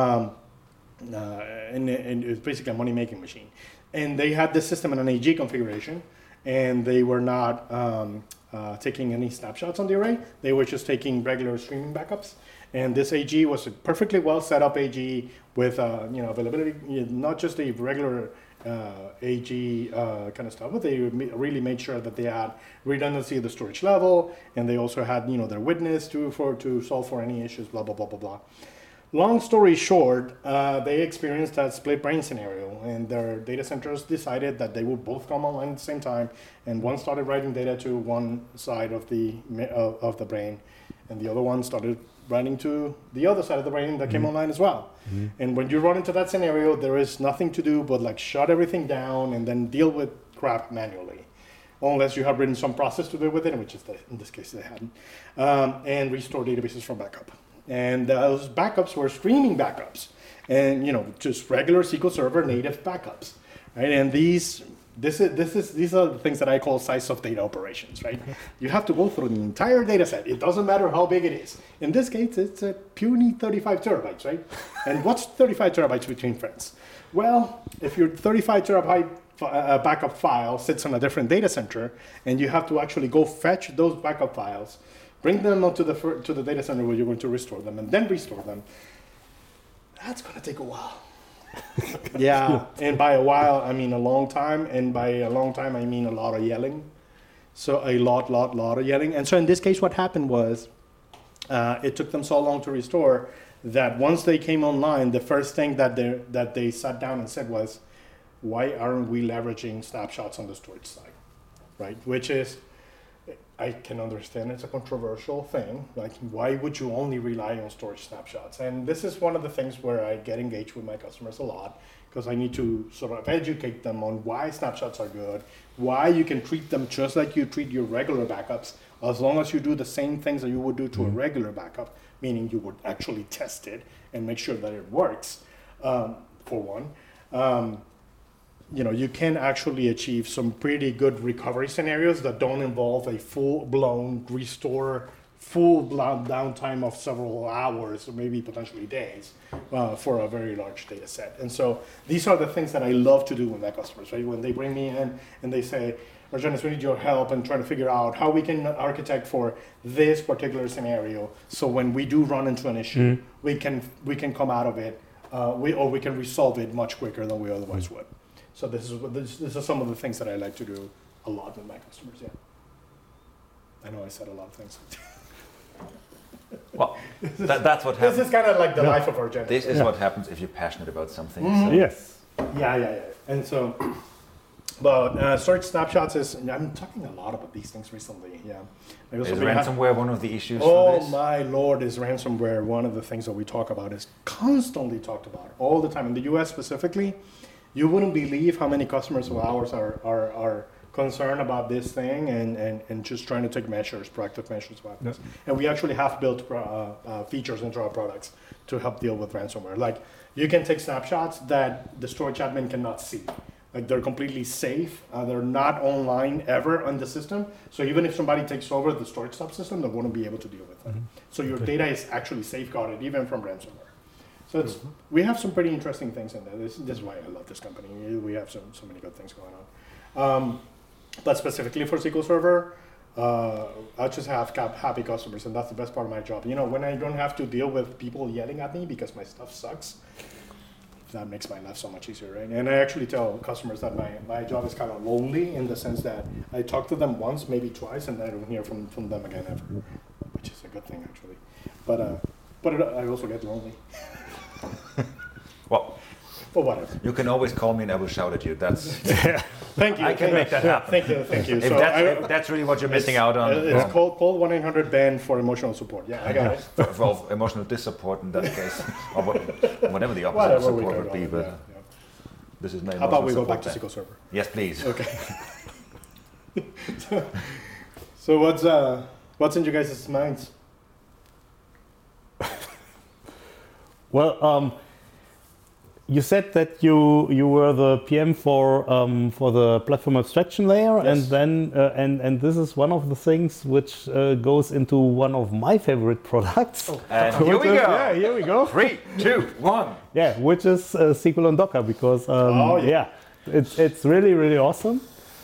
and it's basically a money-making machine. And they had this system in an AG configuration, and they were not taking any snapshots on the array. They were just taking regular streaming backups. And this AG was a perfectly well set up AG with availability, not just a regular AG kind of stuff, but they really made sure that they had redundancy at the storage level, and they also had their witness to solve for any issues, blah blah blah blah blah. Long story short, they experienced that split brain scenario, and their data centers decided that they would both come online at the same time, and one started writing data to one side of the brain, and the other one started writing to the other side of the brain that came online as well. And when you run into that scenario, there is nothing to do but like shut everything down and then deal with crap manually, unless you have written some process to deal with it, which is in this case they hadn't, and restore databases from backup. And those backups were streaming backups, and just regular SQL Server native backups, right? And these are the things that I call size of data operations, right? You have to go through the entire data set. It doesn't matter how big it is. In this case, it's a puny 35 terabytes, right? And what's 35 terabytes between friends? Well, if your 35 terabyte backup file sits on a different data center, and you have to actually go fetch those backup files, bring them up to the data center where you're going to restore them, and then restore them, that's going to take a while. Yeah, and by a while, I mean a long time, and by a long time, I mean a lot of yelling. So a lot of yelling. And so in this case, what happened was it took them so long to restore that once they came online, the first thing that they sat down and said was, why aren't we leveraging snapshots on the storage side, right? Which is, I can understand it's a controversial thing. Like, why would you only rely on storage snapshots? And this is one of the things where I get engaged with my customers a lot, because I need to sort of educate them on why snapshots are good, why you can treat them just like you treat your regular backups, as long as you do the same things that you would do to a regular backup, meaning you would actually test it and make sure that it works, for one. You can actually achieve some pretty good recovery scenarios that don't involve a full-blown restore, full-blown downtime of several hours or maybe potentially days for a very large data set. And so these are the things that I love to do with my customers, right? When they bring me in and they say, Argenis, we need your help in trying to figure out how we can architect for this particular scenario, so when we do run into an issue, we can come out of it, we can resolve it much quicker than we otherwise would. So this is some of the things that I like to do a lot with my customers. Yeah, I know I said a lot of things. Well, that's what happens. This is kind of like the life of Argenis. This is what happens if you're passionate about something. So. Yes. Yeah. And so, but storage snapshots is. I'm talking a lot about these things recently. Yeah. Is ransomware one of the issues? For this? Oh my lord, is ransomware one of the things that we talk about? Is constantly talked about all the time in the U.S. specifically. You wouldn't believe how many customers of ours are concerned about this thing and just trying to take proactive measures about this. And we actually have built features into our products to help deal with ransomware. Like, you can take snapshots that the storage admin cannot see. Like, they're completely safe. They're not online ever on the system. So even if somebody takes over the storage subsystem, they wouldn't be able to deal with it. So your data is actually safeguarded even from ransomware. So we have some pretty interesting things in there. This is why I love this company. We have so many good things going on. But specifically for SQL Server, I just have happy customers, and that's the best part of my job. When I don't have to deal with people yelling at me because my stuff sucks, that makes my life so much easier, right? And I actually tell customers that my job is kind of lonely, in the sense that I talk to them once, maybe twice, and I don't hear from them again ever, which is a good thing, actually. But I also get lonely. Well, whatever. You can always call me and I will shout at you. That's Thank you. I can make that happen. Thank you. If that's really what you're missing out on. It's call 1-800-BEN for emotional support. Yeah, I got it. For emotional dissupport in that case, or whatever the opposite of support would be. But this is my. How about we go back to SQL Server? Yes, please. Okay. So what's in you guys' minds? Well, you said that you were the PM for the platform abstraction layer, Yes. and then and this is one of the things which goes into one of my favorite products. And here we go. Yeah, here we go. 3, 2, 1. Yeah, which is SQL on Docker, because it's really awesome,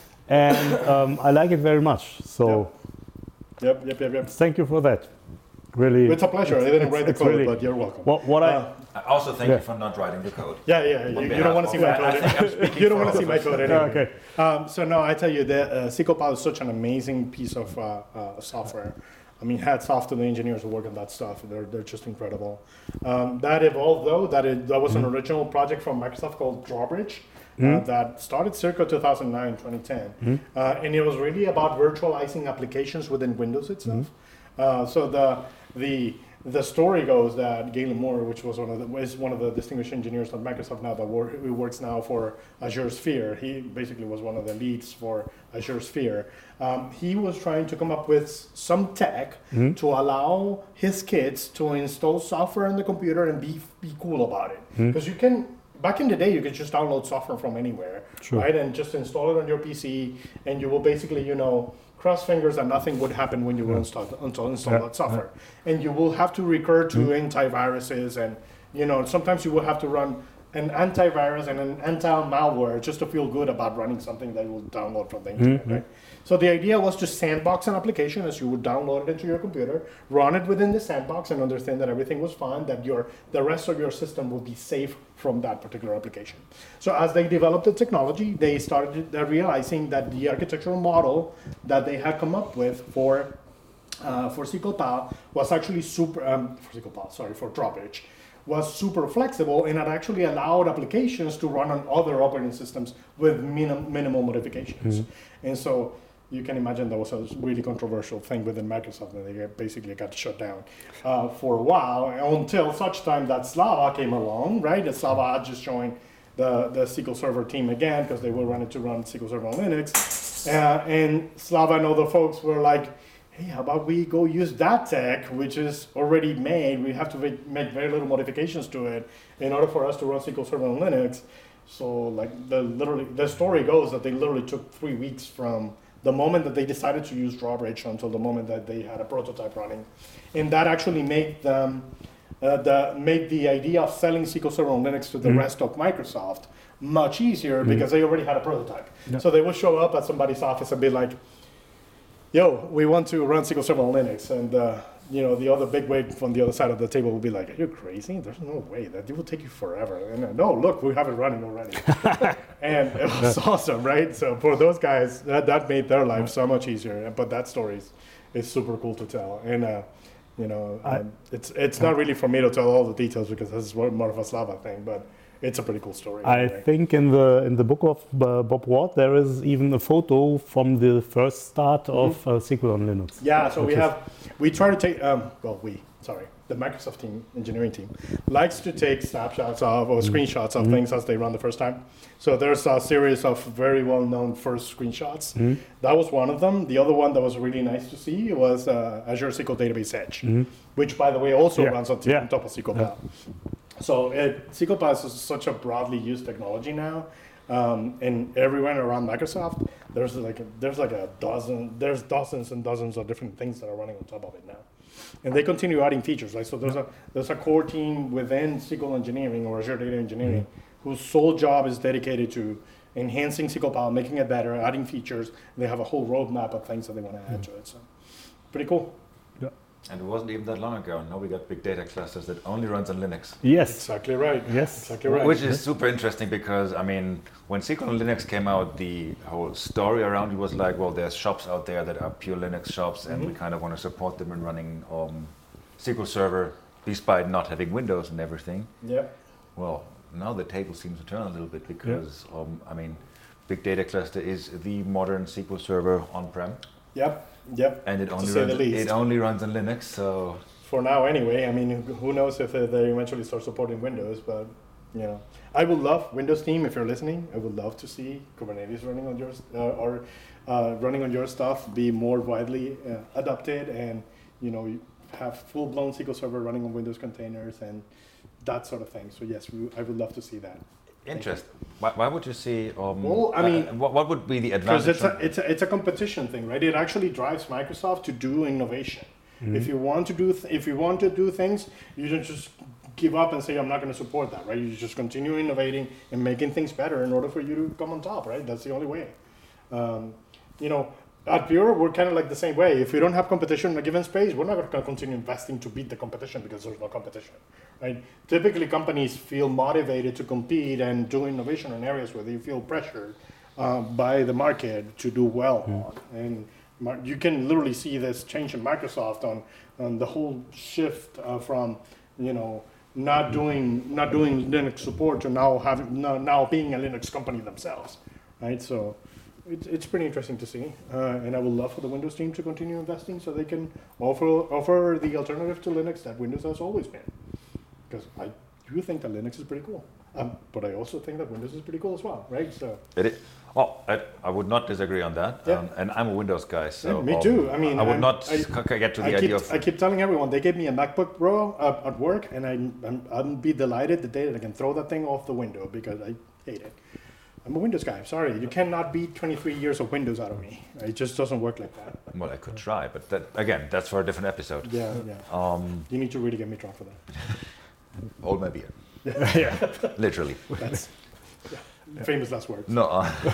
and I like it very much. So Yep. thank you for that. Really, It's a pleasure. I didn't write the it's code, really- but you're welcome. what I I also thank Yeah. you for not writing the code. Yeah. You don't want to see my code. You don't want to see my code anyway. okay. So no, I tell you that SQL Pal is such an amazing piece of software. I mean, hats off to the engineers who work on that stuff. They're just incredible. That evolved though. That was an original project from Microsoft called Drawbridge. That started circa 2009, 2010. And it was really about virtualizing applications within Windows itself. So the story goes that Galen Moore, which was one of the distinguished engineers at Microsoft now, who works now for Azure Sphere. He basically was one of the leads for Azure Sphere. He was trying to come up with some tech to allow his kids to install software on the computer and be cool about it. Because you can. Back in the day, you could just download software from anywhere, right? And just install it on your PC, and you will basically, cross fingers that nothing would happen when you will install that software. And you will have to recur to antiviruses, and sometimes you will have to run an antivirus and an anti-malware just to feel good about running something that you will download from the internet, right? So the idea was to sandbox an application as you would download it into your computer, run it within the sandbox, and understand that everything was fine, that the rest of your system will be safe from that particular application. So as they developed the technology, they started realizing that the architectural model that they had come up with for SQL Pal was actually for Drawbridge, was super flexible, and it actually allowed applications to run on other operating systems with minimal modifications. And so you can imagine that was a really controversial thing within Microsoft, and they basically got shut down for a while, until such time that Slava came along, right? And Slava had just joined the SQL Server team again, because they were running to run SQL Server on Linux. And Slava and other folks were like, hey, how about we go use that tech, which is already made. We have to make very little modifications to it in order for us to run SQL Server on Linux. So the story goes that they literally took 3 weeks from the moment that they decided to use Drawbridge until the moment that they had a prototype running. And that actually made them made the idea of selling SQL Server on Linux to the rest of Microsoft much easier, because they already had a prototype. Yeah. So they would show up at somebody's office and be like, yo, we want to run SQL Server on Linux. And the other big wig from the other side of the table will be like, are you crazy? There's no way. That will take you forever. And no, look, we have it running already. And it was awesome, right? So for those guys, that made their life so much easier. But that story is super cool to tell. And it's not really for me to tell all the details, because this is more of a Slava thing, but it's a pretty cool story. I think in the book of Bob Ward, there is even a photo from the first start of SQL on Linux. Yeah, so we try to take, the Microsoft team, engineering team, likes to take snapshots of or screenshots of things as they run the first time. So there's a series of very well-known first screenshots. That was one of them. The other one that was really nice to see was Azure SQL Database Edge, which, by the way, also runs on top of SQL Pal. So SQL Pal is such a broadly used technology now, and everywhere around Microsoft, there's dozens and dozens of different things that are running on top of it now, and they continue adding features. Right, so there's a core team within SQL Engineering or Azure Data Engineering whose sole job is dedicated to enhancing SQL Pal, making it better, adding features. They have a whole roadmap of things that they want to add to it. So pretty cool. And it wasn't even that long ago. Now we got big data clusters that only runs on Linux. Yes. Exactly right. Yes. Exactly right. Which is super interesting, because, I mean, when SQL on Linux came out, the whole story around it was like, well, there's shops out there that are pure Linux shops, and we kind of want to support them in running SQL Server, despite not having Windows and everything. Yeah. Well, now the table seems to turn a little bit, because, I mean, big data cluster is the modern SQL Server on-prem. Yep. And it only runs on Linux, so... For now, anyway. I mean, who knows if they eventually start supporting Windows, but You know, I would love Windows team if you're listening. I would love to see Kubernetes running on yours running on your stuff be more widely adopted, and you know, you have full-blown SQL Server running on Windows containers and that sort of thing. So yes, I would love to see that. Interesting. Why would you see? Well, I mean, what would be the advantage? Because it's a competition thing, right? It actually drives Microsoft to do innovation. Mm-hmm. If you want to do things, you don't just give up and say I'm not going to support that, right? You just continue innovating and making things better in order for you to come on top, right? That's the only way. You know, at Pure, we're kind of like the same way. If we don't have competition in a given space, we're not going to continue investing to beat the competition because there's no competition, right? Typically, companies feel motivated to compete and do innovation in areas where they feel pressured by the market to do well on. And you can literally see this change in Microsoft on the whole shift from, you know, not doing Linux support to now being a Linux company themselves, right? So it's pretty interesting to see, and I would love for the Windows team to continue investing so they can offer the alternative to Linux that Windows has always been. Because I do think that Linux is pretty cool, but I also think that Windows is pretty cool as well, right? So it is. Well, I would not disagree on that, yeah. And I'm a Windows guy, so yeah, me too. I mean, I would not get to the idea of. I keep telling everyone they gave me a MacBook Pro at work, and I'd be delighted the day that I can throw that thing off the window because I hate it. I'm a Windows guy. Sorry, you cannot beat 23 years of Windows out of me. It just doesn't work like that. Well, I could try, but that's for a different episode. Yeah. You need to really get me drunk for that. Hold my beer. Yeah. Literally. That's famous last words. No.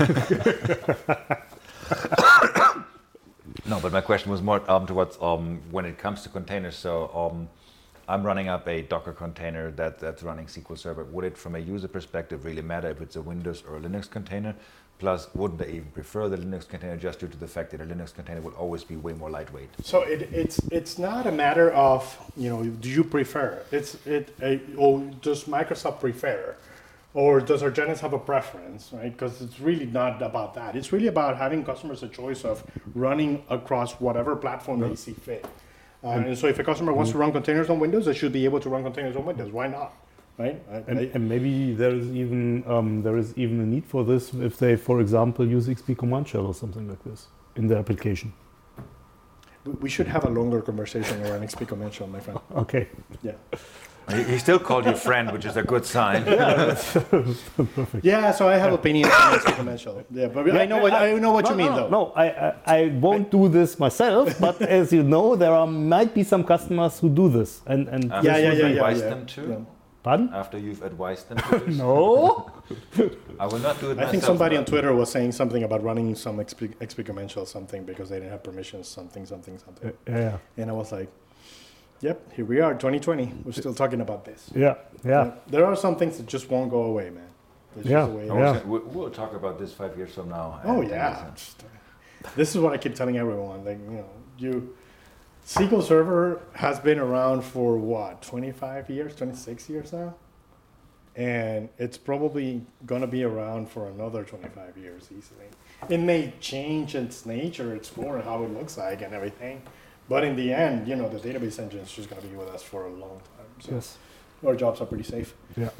No, but my question was more towards when it comes to containers. So I'm running up a Docker container that's running SQL Server. Would it, from a user perspective, really matter if it's a Windows or a Linux container? Plus, wouldn't they even prefer the Linux container just due to the fact that a Linux container will always be way more lightweight? So it's not a matter of, you know, do you prefer? Or does Microsoft prefer? Or does Argenis have a preference, right? Because it's really not about that. It's really about having customers a choice of running across whatever platform they see fit. And so if a customer wants to run containers on Windows, they should be able to run containers on Windows. Why not? Right? And maybe there is even a need for this if they, for example, use XP Command Shell or something like this in their application. We should have a longer conversation around XP Command Shell, my friend. Okay. Yeah. He still called you friend, which is a good sign. Yeah, perfect. Yeah, so I have opinions on XP Command Shell. Yeah, but I know what you mean, though. No, I won't do this myself, but as you know, there might be some customers who do this, and after you've advised them to. Yeah. Pardon? After you've advised them to do No. I will not do it myself. I think somebody on Twitter was saying something about running some XP Command Shell something because they didn't have permissions, something. Yeah. And I was like, yep, here we are, 2020. We're still talking about this. Yeah. There are some things that just won't go away, man. It's Yeah. just the way it is. We'll talk about this 5 years from now. Oh, yeah. This is what I keep telling everyone. Like, you know, SQL Server has been around for what, 25 years, 26 years now? And it's probably going to be around for another 25 years easily. It may change its nature, its core, how it looks like and everything. But in the end, you know, the database engine is just going to be with us for a long time. So Yes. our jobs are pretty safe. Yeah.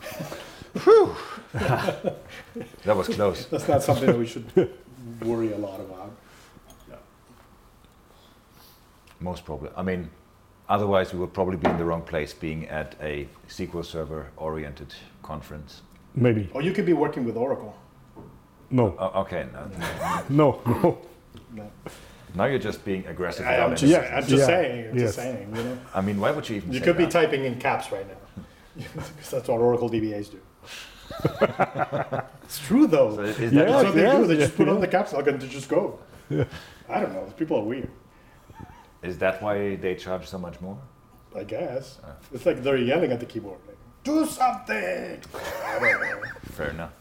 That was close. That's not something that we should worry a lot about. Most probably. I mean, otherwise we would probably be in the wrong place being at a SQL Server-oriented conference. Maybe. Or you could be working with Oracle. No. Okay. No. No. Now you're just being aggressive. I'm just saying. Yes. You know? I mean, why would you even You say could be that? typing in caps right now. Because that's what Oracle DBAs do. It's true, though. So is That's that what they do. They just put on the caps lock and they just go. Yeah. I don't know. People are weird. Is that why they charge so much more? I guess. It's like they're yelling at the keyboard. Like, do something! I don't know. Fair enough.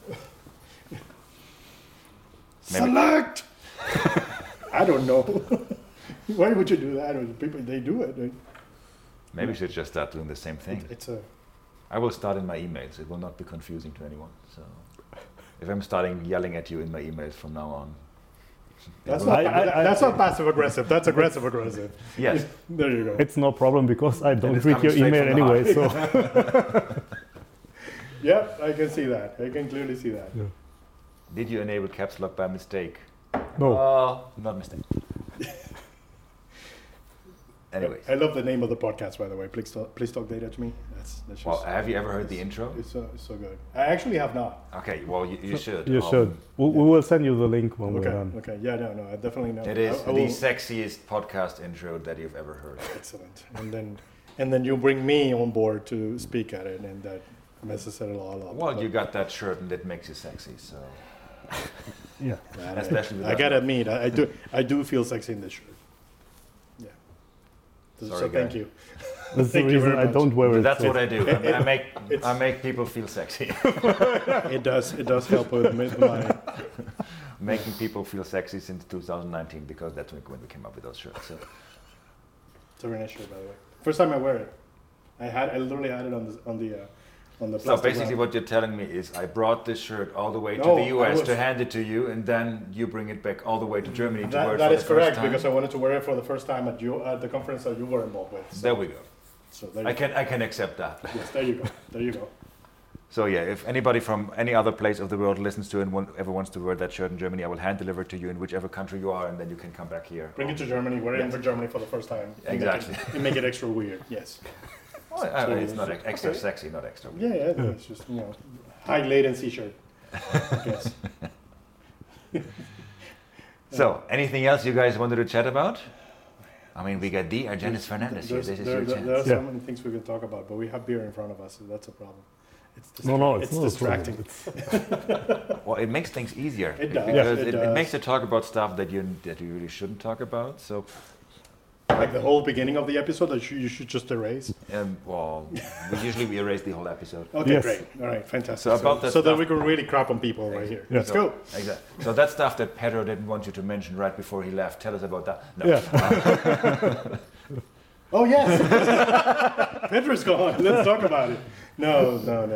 Select! I don't know. Why would you do that? People, they do it. Maybe we should just start doing the same thing. I will start in my emails. It will not be confusing to anyone. So, if I'm starting yelling at you in my emails from now on, that's not passive aggressive. That's aggressive aggressive. Yes. There you go. It's no problem because I don't it's read coming your straight email from the anyway. heart. So Yeah, I can see that. I can clearly see that. Yeah. Did you enable caps lock by mistake? No. Not mistake. Anyways. I love the name of the podcast, by the way. Please talk data to me. That's Well, just, have you ever heard the intro? it's so good. I actually have not. Okay, well, you should. You should. We will send you the link when we're Okay. done. Okay. Yeah. No. I definitely know. It is I the will- sexiest podcast intro that you've ever heard. Excellent. And then you bring me on board to speak at it, and that messes it all up. Well, you got that shirt and it makes you sexy, so. Yeah. And especially with I that gotta look. admit, I do feel sexy in this shirt. Yeah. Sorry, So thank guy. you. That's the Thank you reason very I much. don't wear it. That's so- what I do. I make people feel sexy. It does help with my. Making people feel sexy since 2019 because that's when we came up with those shirts. So. It's a very nice shirt, by the way. First time I wear it. I literally had it on the So plastic basically, wrap. what you're telling me is, I brought this shirt all the way to No, the I US was- to hand it to you, and then you bring it back all the way to Germany to wear it That for is the correct, first time. because I wanted to wear it for the first time at the conference that you were involved with. So, There we go. so there you I can accept that. go. Yes, there you go. There you go. So yeah, if anybody from any other place of the world listens to and ever wants to wear that shirt in Germany, I will hand deliver it to you in whichever country you are, and then you can come back here. Bring it to Germany. Wear it in Yes. for Germany for the first time. Exactly. And make it extra weird. Yes. Oh, it's not extra sexy, not extra. Yeah, yeah. It's just high latency shirt. I guess. So, anything else you guys wanted to chat about? I mean, we got Argenis Fernandez here. This is your chance. There are Yeah. so many things we can talk about, but we have beer in front of us, so that's a problem. It's No, it's not a distracting. problem. Well, it makes things easier. It does. Because It it does. makes you talk about stuff that you really shouldn't talk about. So, Like the whole beginning of the episode that you should just erase. well, we erase the whole episode. Okay, Yes. great. All right, fantastic. So about that so that stuff- we can really crap on people right here. Yeah. Let's go. Exactly. So that stuff that Pedro didn't want you to mention right before he left. Tell us about that. No. Yeah. Oh yes, Pedro's gone. Let's talk about it. No.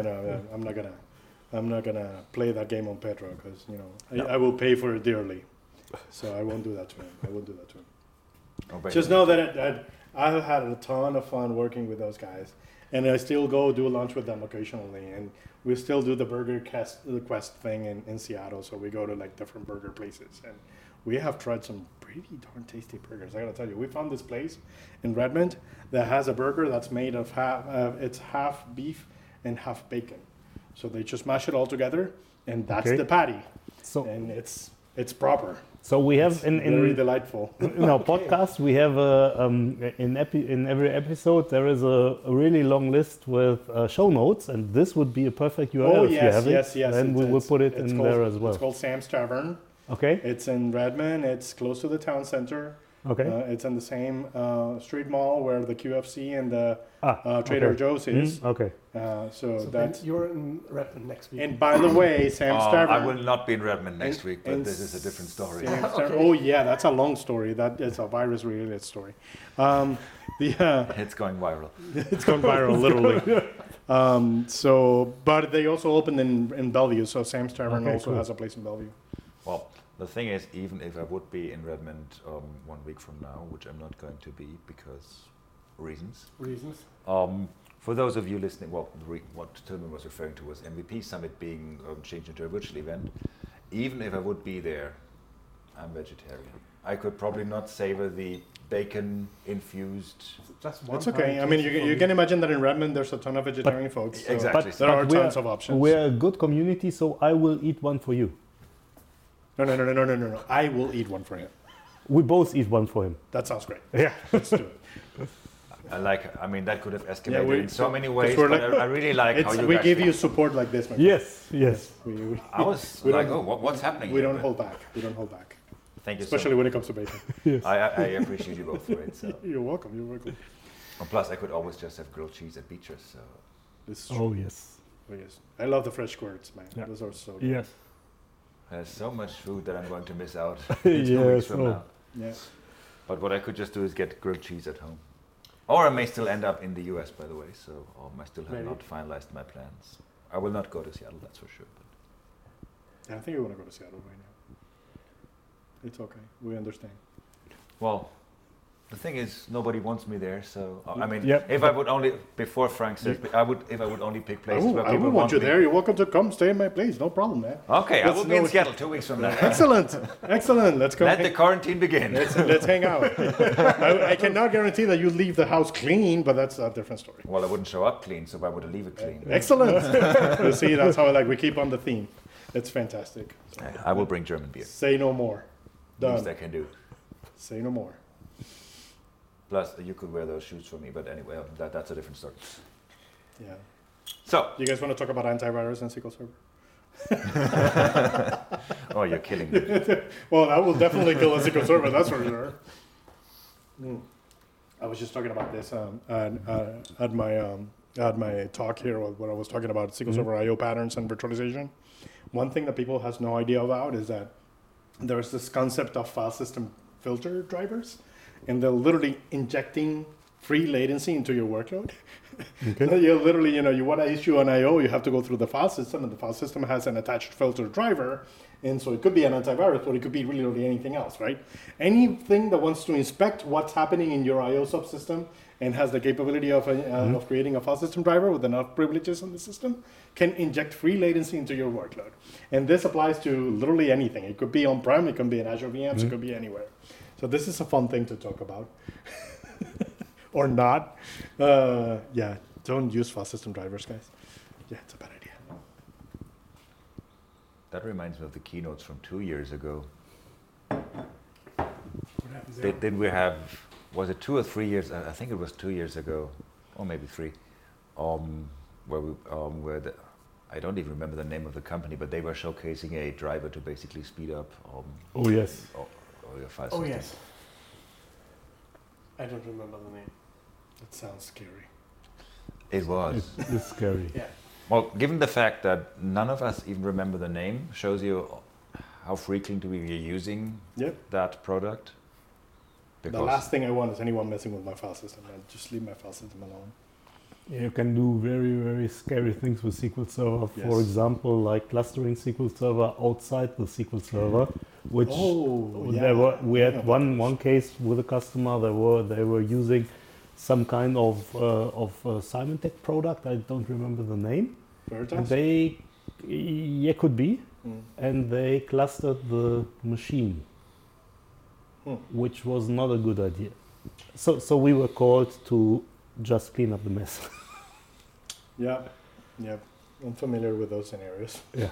I'm not gonna play that game on Pedro because I will pay for it dearly. So I won't do that to him. Oh, wait. Just know that I've had a ton of fun working with those guys, and I still go do lunch with them occasionally, and we still do the quest thing in Seattle. So we go to like different burger places, and we have tried some pretty darn tasty burgers. I gotta tell you, we found this place in Redmond that has a burger that's made of half beef and half bacon. So they just mash it all together, and that's Okay. the patty, So, and it's proper. so we have Very in delightful. in our podcast we have in every episode there is a really long list with show notes, and this would be a perfect URL Oh if you yes, have it. yes. Then we will put it it's in called- there as well. It's called Sam's Tavern. Okay. It's in Redmond. It's close to the town center. Okay. It's in the same street mall where the QFC and the Trader okay. Joe's is. Okay. So So that's. then you're in Redmond next week. And by the way, Sam's Tavern. I will not be in Redmond next and- week, but and this is a different story. Sam's Okay. Tavern. Oh yeah, that's a long story. That is a virus-related story. It's going viral. It's gone viral, literally. But they also opened in Bellevue, so Sam's Tavern Okay, also cool. has a place in Bellevue. Well, the thing is, even if I would be in Redmond 1 week from now, which I'm not going to be because reasons. For those of you listening, well, what Tilman was referring to was MVP Summit being changed into a virtual event. Even if I would be there, I'm vegetarian. I could probably not savor the bacon-infused. Just one It's okay. time I mean, tasting you for can me. imagine that in Redmond there's a ton of vegetarian folks. So Exactly. There are we tons of options. We're a good community, so I will eat one for you. No. I will eat one for him. We both eat one for him. That sounds great. Yeah. Let's do it. I mean, that could have escalated in so many 'cause ways, we're but like- I really like how you We guys give think. you support like this, my friend. Yes. We I was we like, don't- what's happening we here? don't But hold back. We don't hold back. Thank you Especially when it comes to bacon. Yes. I appreciate you both for it. So. You're welcome. You're welcome. And plus, I could always just have grilled cheese at Beaches. So This is true. Oh yes. Oh, yes. I love the fresh squirts, man. Yeah. Those are so good. Yes. there's so much food that I'm going to miss out in 2 weeks Yes. from Oh. now. Yeah. But what I could just do is get grilled cheese at home. Or I may still end up in the US, by the way, so I still have Maybe. not finalized my plans. I will not go to Seattle, that's for sure. But I think we want to go to Seattle right now. It's okay. We understand. well, The thing is, nobody wants me there. So I mean, Yep. if I would only before Frank says, If I would only pick places where I people would want you me. there. You're welcome to come stay in my place. No problem, man. Okay, I Let's will be in know- Seattle 2 weeks from now. Excellent. Excellent. Let's go. Let the quarantine begin. Let's hang out. I cannot guarantee that you leave the house clean, but that's a different story. Well, I wouldn't show up clean, so why would I leave it clean? Excellent. You see, that's how we keep on the theme. It's fantastic. So, I will bring German beer. say no more. Least Done. I can do. Say no more. Plus, you could wear those shoes for me, but anyway, that's a different story. Yeah. So, You guys want to talk about antivirus and SQL Server? oh, you're killing me. Well, that will definitely kill a SQL Server, that's for sure. I was just talking about this at my talk here when I was talking about SQL Server I/O patterns and virtualization. One thing that people has no idea about is that there's this concept of file system filter drivers, and they're literally injecting free latency into your workload. Okay. You literally, you want to issue an I/O, you have to go through the file system, and the file system has an attached filter driver, and so it could be an antivirus, but it could be really anything else, right? Anything that wants to inspect what's happening in your I/O subsystem and has the capability of creating a file system driver with enough privileges on the system can inject free latency into your workload. And this applies to literally anything. It could be on-prem, it can be in Azure VMs, it could be anywhere. So this is a fun thing to talk about. Or not. Yeah, don't use file system drivers, guys. Yeah, it's a bad idea. That reminds me of the keynotes from 2 years ago. What happens there? Did we have, was it 2 or 3 years? I think it was 2 years ago, or maybe 3, I don't even remember the name of the company, but they were showcasing a driver to basically speed up Oh yes. your file Oh system. yes. I don't remember the name. That sounds scary. It was. It's scary. Yeah. Well, given the fact that none of us even remember the name, shows you how frequently we are using Yep. that product. The last thing I want is anyone messing with my file system. Man. Just leave my file system alone. You can do very scary things with SQL Server. For Yes. example, like clustering SQL Server outside the SQL Server, which we had one case with a customer. They were using some kind of Symantec product. I don't remember the name. And Veritas? could be. And they clustered the machine, which was not a good idea. So we were called to just clean up the mess. Yeah. I'm familiar with those scenarios. Yeah.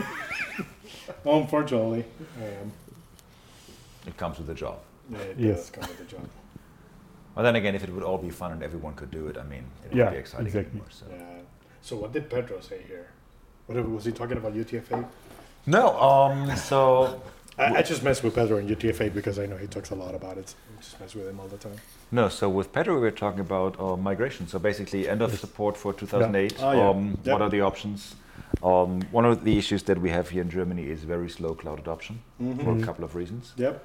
Unfortunately, I am. It comes with the job. Yeah, it Yes. does come with the job. Well, then again, if it would all be fun and everyone could do it, I mean, it Yeah, would be exciting exactly. anymore. So. Yeah. So what did Pedro say here? Was he talking about UTF-8? No, so I just mess with Pedro and UTF-8 because I know he talks a lot about it. I just mess with him all the time. No, so with Pedro we were talking about migration. So basically end of support for 2008. Yeah. Oh, yeah. Yep. What are the options? One of the issues that we have here in Germany is very slow cloud adoption for a couple of reasons. Yep.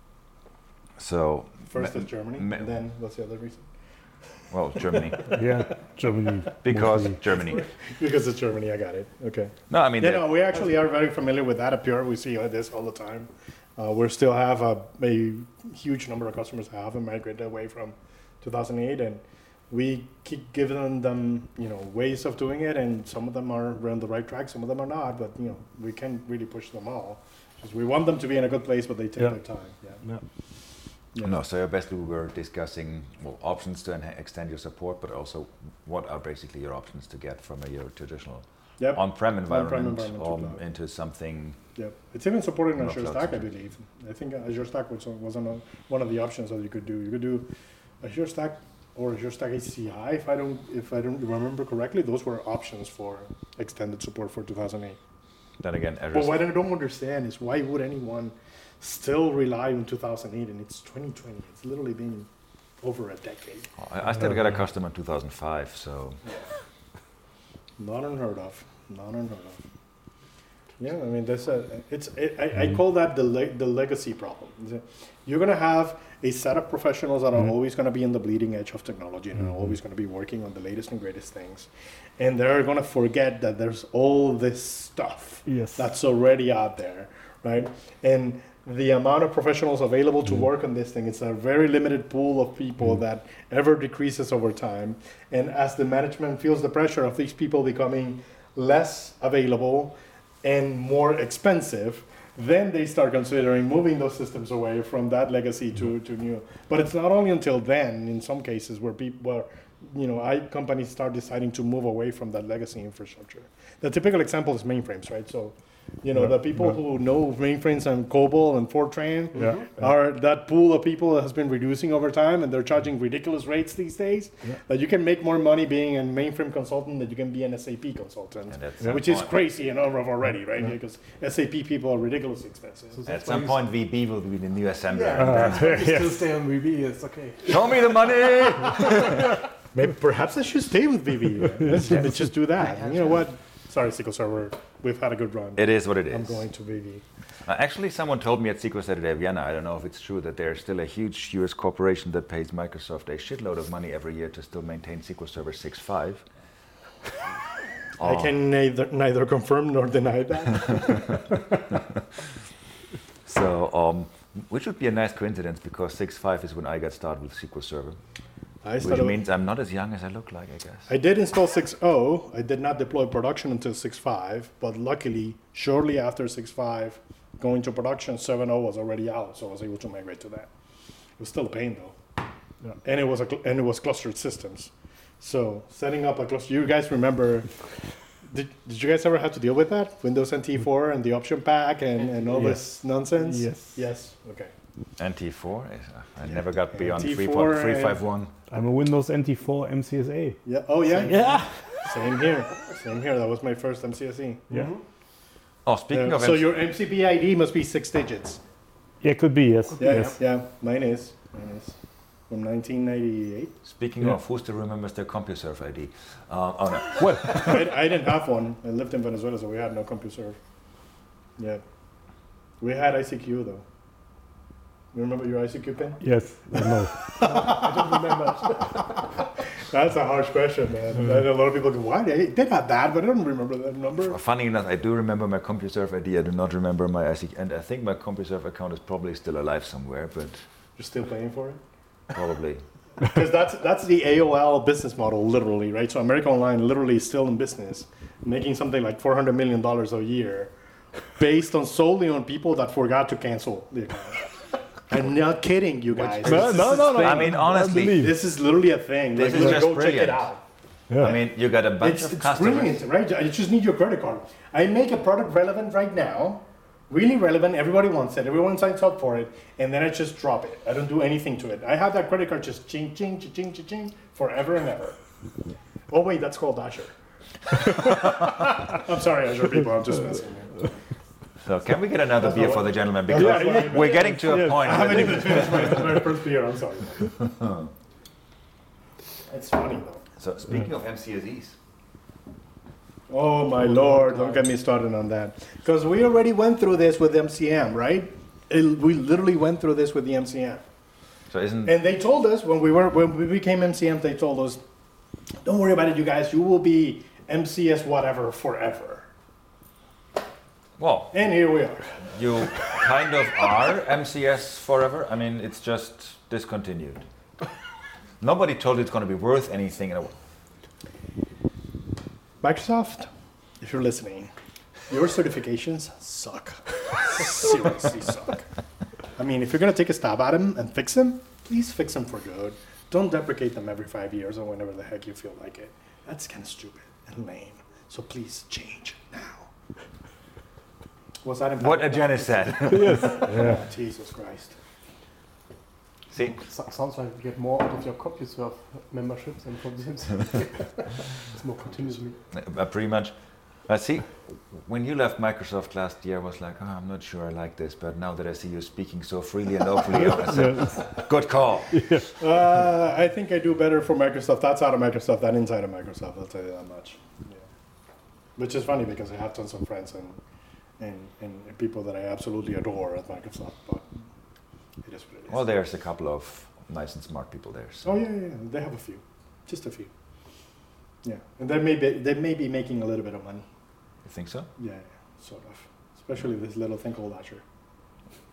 So First is Germany, ma- and then what's the other reason? well, Germany. Yeah, Germany. Because mostly. Germany. Because it's Germany, I got it. Okay. No, I mean, Yeah, no, we actually are very familiar with that at Pure. We see this all the time. We still have a huge number of customers who haven't migrated away from 2008, and we keep giving them, ways of doing it, and some of them are on the right track, some of them are not, but, we can't really push them all. Because we want them to be in a good place, but they take Yeah. their time. Yeah. Yeah. Yeah. No, so basically we were discussing options to extend your support, but also what are basically your options to get from your traditional Yep. on-prem environment, environment to cloud. into something. Yep. It's even supported in Not Azure cloud Stack, I centric. believe. I think Azure Stack was one of the options that you could do. You could do Azure Stack or Azure Stack HCI, if I don't remember correctly. Those were options for extended support for 2008. Then again, Azure. But what I don't understand is why would anyone still rely on 2008 and it's 2020? It's literally been over a decade. I still got a customer in 2005, so Not unheard of. Yeah, I mean I call that the legacy problem. You're gonna have a set of professionals that are always gonna be in the bleeding edge of technology and are always gonna be working on the latest and greatest things, and they're gonna forget that there's all this stuff Yes. that's already out there, right? And the amount of professionals available to work on this thing, it's a very limited pool of people that ever decreases over time. And as the management feels the pressure of these people becoming less available and more expensive, then they start considering moving those systems away from that legacy to new. But it's not only until then, in some cases, where companies start deciding to move away from that legacy infrastructure. The typical example is mainframes, right? So, the people who know mainframes and COBOL and Fortran are that pool of people that has been reducing over time, and they're charging ridiculous rates these days. That you can make more money being a mainframe consultant than you can be an SAP consultant, which is crazy and already, right? Because SAP people are ridiculously expensive. So at some point, VB will be the new assembler. You still stay on VB, it's okay. Show me the money! Maybe perhaps I should stay with VB. Let's just do that. You know what? Sorry, SQL Server. We've had a good run. It is what it is. I'm going to VB. Actually, someone told me at SQL Saturday Vienna, I don't know if it's true, that there's still a huge US corporation that pays Microsoft a shitload of money every year to still maintain SQL Server 6.5. I can neither confirm nor deny that. So, which would be a nice coincidence, because 6.5 is when I got started with SQL Server. Which means I'm not as young as I look like, I guess. I did install 6.0. I did not deploy production until 6.5, but luckily, shortly after 6.5, going to production, 7.0 was already out, so I was able to migrate to that. It was still a pain, though. Yeah. And it was clustered systems. So setting up a cluster, you guys remember, did you guys ever have to deal with that? Windows NT4 and the option pack and all this nonsense? Yes. Okay. NT4? I never got beyond 3.351. I'm a Windows NT4 MCSA. Yeah. Oh, yeah? Yeah. Same here. That was my first MCSE. Yeah. Mm-hmm. Oh, speaking of... So your MCP ID must be 6 digits. Yeah, it could be, yes. Yeah. Mine is. From 1998. Speaking of, who still remembers their CompuServe ID? Oh, no. Well, I didn't have one. I lived in Venezuela, so we had no CompuServe. Yeah. We had ICQ, though. You remember your ICQ pin? Yes. No. I don't remember. That's a harsh question, man. And a lot of people go, why? They did have that, but I don't remember that number. Funny enough, I do remember my CompuServe ID. I do not remember my ICQ. And I think my CompuServe account is probably still alive somewhere, but... You're still paying for it? Probably. Because that's the AOL business model, literally, right? So America Online literally is still in business, making something like $400 million a year, based on solely on people that forgot to cancel the account. I'm not kidding, you guys. No. I mean, honestly, this is literally a thing. This is just go brilliant. check it out. Yeah. I mean, you got a bunch of customers. It's brilliant, right? You just need your credit card. I make a product relevant right now, really relevant. Everybody wants it. Everyone signs up for it, and then I just drop it. I don't do anything to it. I have that credit card just ching, ching, ching, ching, ching, forever and ever. Oh wait, that's called Azure. I'm sorry, Azure people. I'm just messing. So can we get another beer for the gentleman? Because we're getting to a point. I haven't even finished my first beer. I'm sorry. It's funny though. So speaking of MCSEs. Oh my lord, don't get me started on that. Because we already went through this with MCM, right? We literally went through this with the MCM. So and they told us when we became MCM, they told us, don't worry about it, you guys. You will be MCS whatever forever. Well, and here we are. You kind of are MCS forever. I mean, it's just discontinued. Nobody told you it's going to be worth anything. Microsoft, if you're listening, your certifications suck. Seriously suck. I mean, if you're going to take a stab at them and fix them, please fix them for good. Don't deprecate them every 5 years or whenever the heck you feel like it. That's kind of stupid and lame. So please change now. Was that what Janice said? Yes. Yeah. Jesus Christ. See? Sounds like you get more out of your CompuServe memberships than from the MCSE. It's more continuously. Pretty much. See, when you left Microsoft last year, I was like, I'm not sure I like this, but now that I see you speaking so freely and openly, I said, good call. I think I do better for Microsoft outside of Microsoft than inside of Microsoft, I'll tell you that much. Yeah. Which is funny because I have tons of friends and people that I absolutely adore at Microsoft, but it is what it is. Well, there's a couple of nice and smart people there. So. Oh, yeah, they have a few. Just a few. Yeah, and they may be making a little bit of money. You think so? Yeah, sort of. Especially this little thing called Azure.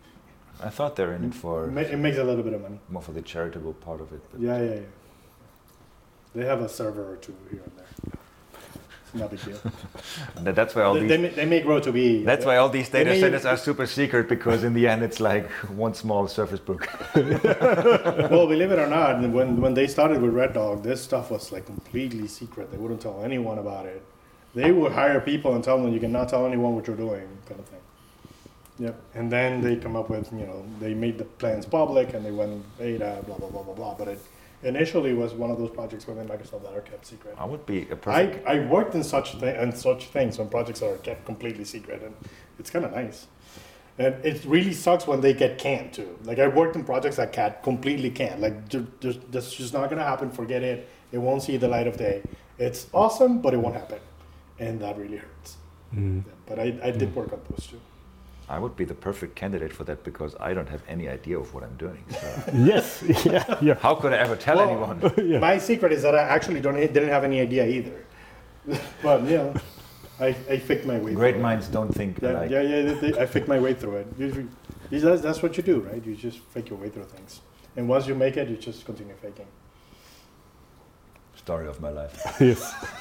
I thought they're in it for It makes a little bit of money. more for the charitable part of it. But Yeah. They have a server or two here and there. It's not a big deal. that's why all these. They may grow to be. That's why all these data may- centers are super secret, because in the end it's like one small Surface Book. Well, believe it or not, when they started with Red Dog, this stuff was like completely secret. They wouldn't tell anyone about it. They would hire people and tell them you cannot tell anyone what you're doing, kind of thing. Yep. And then they come up with, they made the plans public and they went beta, blah blah blah blah blah. But it initially was one of those projects within Microsoft that are kept secret. I would be a perfect. I worked in such things on projects that are kept completely secret, and it's kind of nice. And it really sucks when they get canned too. Like I worked in projects that got completely canned. Like that's just not gonna happen. Forget it. It won't see the light of day. It's awesome, but it won't happen, and that really hurts. Yeah, but I did work on those too. I would be the perfect candidate for that, because I don't have any idea of what I'm doing. So Yes. Yeah. how could I ever tell anyone? Yeah. My secret is that I actually didn't have any idea either. But I faked my way. Great through minds don't think it. alike. I faked my way through it. That's what you do, right? You just fake your way through things, and once you make it, you just continue faking. Story of my life. Yes.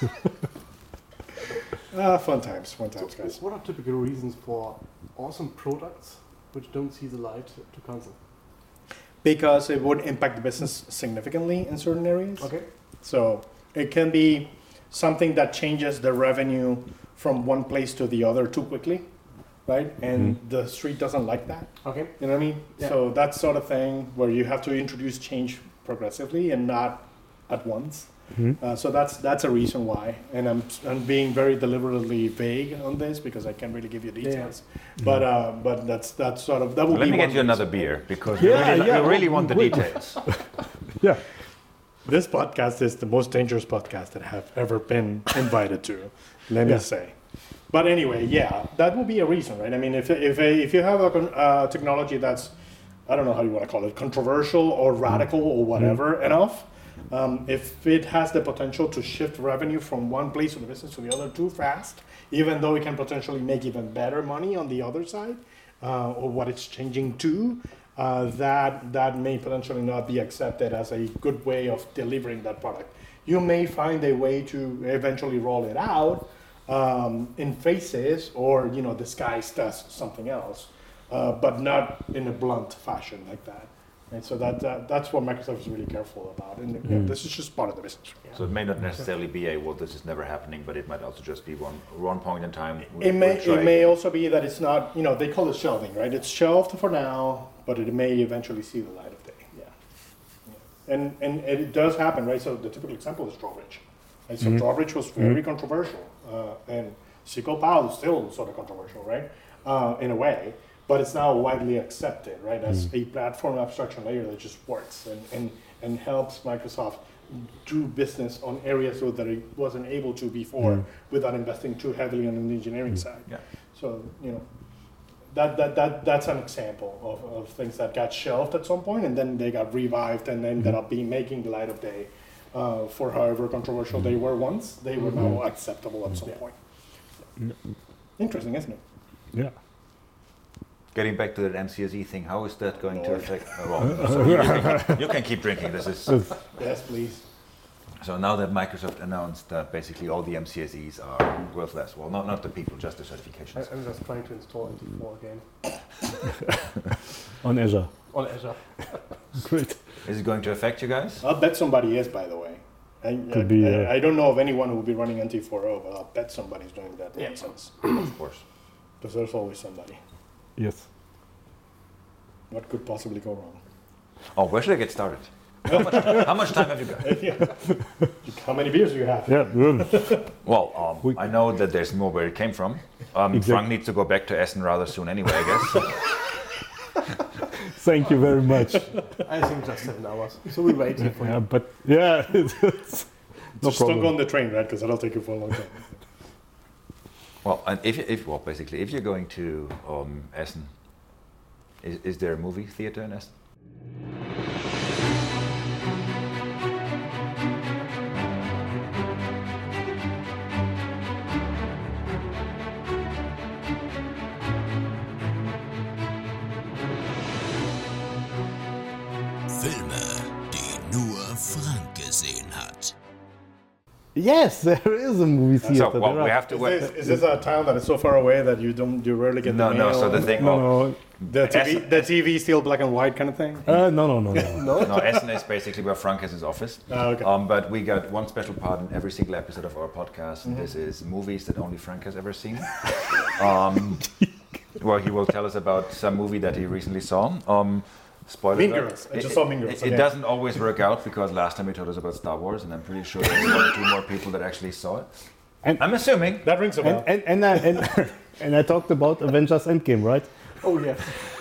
Fun times, guys. What are typical reasons for awesome products which don't see the light to cancel? Because it would impact the business significantly in certain areas. Okay. So it can be something that changes the revenue from one place to the other too quickly, right? And the street doesn't like that. Okay. You know what I mean? Yeah. So that sort of thing where you have to introduce change progressively and not at once. So that's a reason why, and I'm being very deliberately vague on this because I can't really give you details. But that's sort of that would Let be me one get you reason. another beer, because Yeah, you really want the wait. details. Yeah. This podcast is the most dangerous podcast that I have ever been invited to. Let me say. But anyway, that would be a reason, right? I mean, if you have a technology that's, I don't know how you want to call it, controversial or radical or whatever enough. If it has the potential to shift revenue from one place of the business to the other too fast, even though it can potentially make even better money on the other side, or what it's changing to, that may potentially not be accepted as a good way of delivering that product. You may find a way to eventually roll it out in phases, or disguised as something else, but not in a blunt fashion like that. And so that's what Microsoft is really careful about. And this is just part of the business. So it may not necessarily be this is never happening, but it might also just be one point in time. It may also be that it's not, they call it shelving, right? It's shelved for now, but it may eventually see the light of day. And it does happen, right? So the typical example is Drawbridge. And so Drawbridge was very controversial, and SQL PAL is still sort of controversial, right? In a way. But it's now widely accepted, right, as a platform abstraction layer that just works and helps Microsoft do business on areas that it wasn't able to before without investing too heavily on the engineering side. Yeah. So that's an example of things that got shelved at some point and then they got revived and ended up making the light of day. For however controversial they were once, they were now acceptable at some point. Interesting, isn't it? Yeah. Getting back to that MCSE thing, how is that going to Lord. affect? So you can keep drinking. This is Yes, please. so now that Microsoft announced that basically all the MCSEs are worthless. Well, not the people, just the certifications. I'm just trying to install NT4 again On Azure. on Azure. Great. Is it going to affect you guys? I'll bet somebody is, by the way. Could be, I don't know of anyone who will be running NT4.0, but I'll bet somebody's doing that nonsense. Of course. Because there's always somebody. Yes. What could possibly go wrong? Oh, where should I get started? How much time have you got? How many beers do you have? Yeah. Good. Well, I know that there's more where it came from. Frank needs to go back to Essen rather soon anyway, I guess. Thank you very much. I think just 7 hours. So we're waiting for Yeah, you. but yeah, it's no Just don't go problem. on the train, right? Because that'll take you for a long time. Well, and basically, if you're going to Essen, is there a movie theater in Essen? Filme, die nur Frank gesehen hat. Yes, there is a movie theater. So, well, There we are- have to. Is this a town that is so far away that you rarely get No, the no. mail? So the thing. no, the TV is still black and white kind of thing. no. No, Essen is basically where Frank has his office. Okay. But we got one special part in every single episode of our podcast. And this is movies that only Frank has ever seen. Well, he will tell us about some movie that he recently saw. Spoiler Mean alert. Girls. I just saw Mean Girls, It okay. doesn't always work out because last time he told us about Star Wars, and I'm pretty sure there's 1 or 2 more people that actually saw it. And- I'm assuming. That rings a bell. And I talked about Avengers Endgame, right? Oh yes.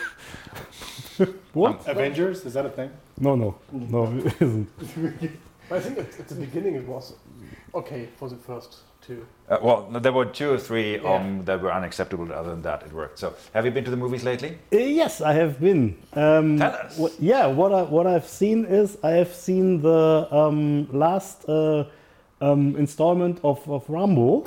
What? Avengers, is that a thing? No, it isn't. I think at the beginning it was okay for the first 2. Well, there were 2 or 3 Yeah. that were unacceptable. Other than that, it worked. So, have you been to the movies lately? Yes, I have been. Tell us. What I've seen is I have seen the last installment of Rambo.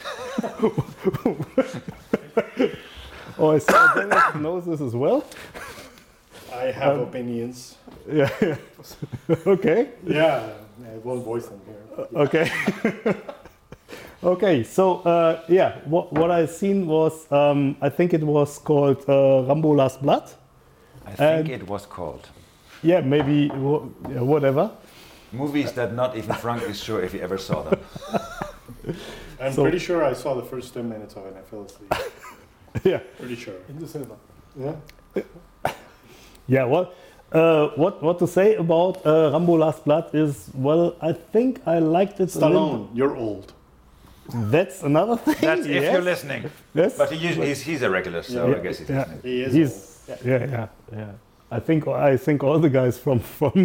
Oh, I see Dennis knows this as well. I have opinions. Yeah. Okay. Yeah, I won't voice them here. Okay. Okay. So what I seen was I think it was called Rambo Last Blood. I think it was called. Yeah, maybe whatever. Movies that not even Frank is sure if he ever saw them. I'm So- pretty sure I saw the first 10 minutes of it and I fell asleep. Yeah. Pretty sure. In the cinema. Yeah. Yeah, what to say about Rambo Last Blood is, well, I think I liked it a little. Stallone, you're old. That's another thing. That's if yes. you're listening. Yes. But he's a regular, so I guess he's listening. He is He's, yeah. I think all the guys from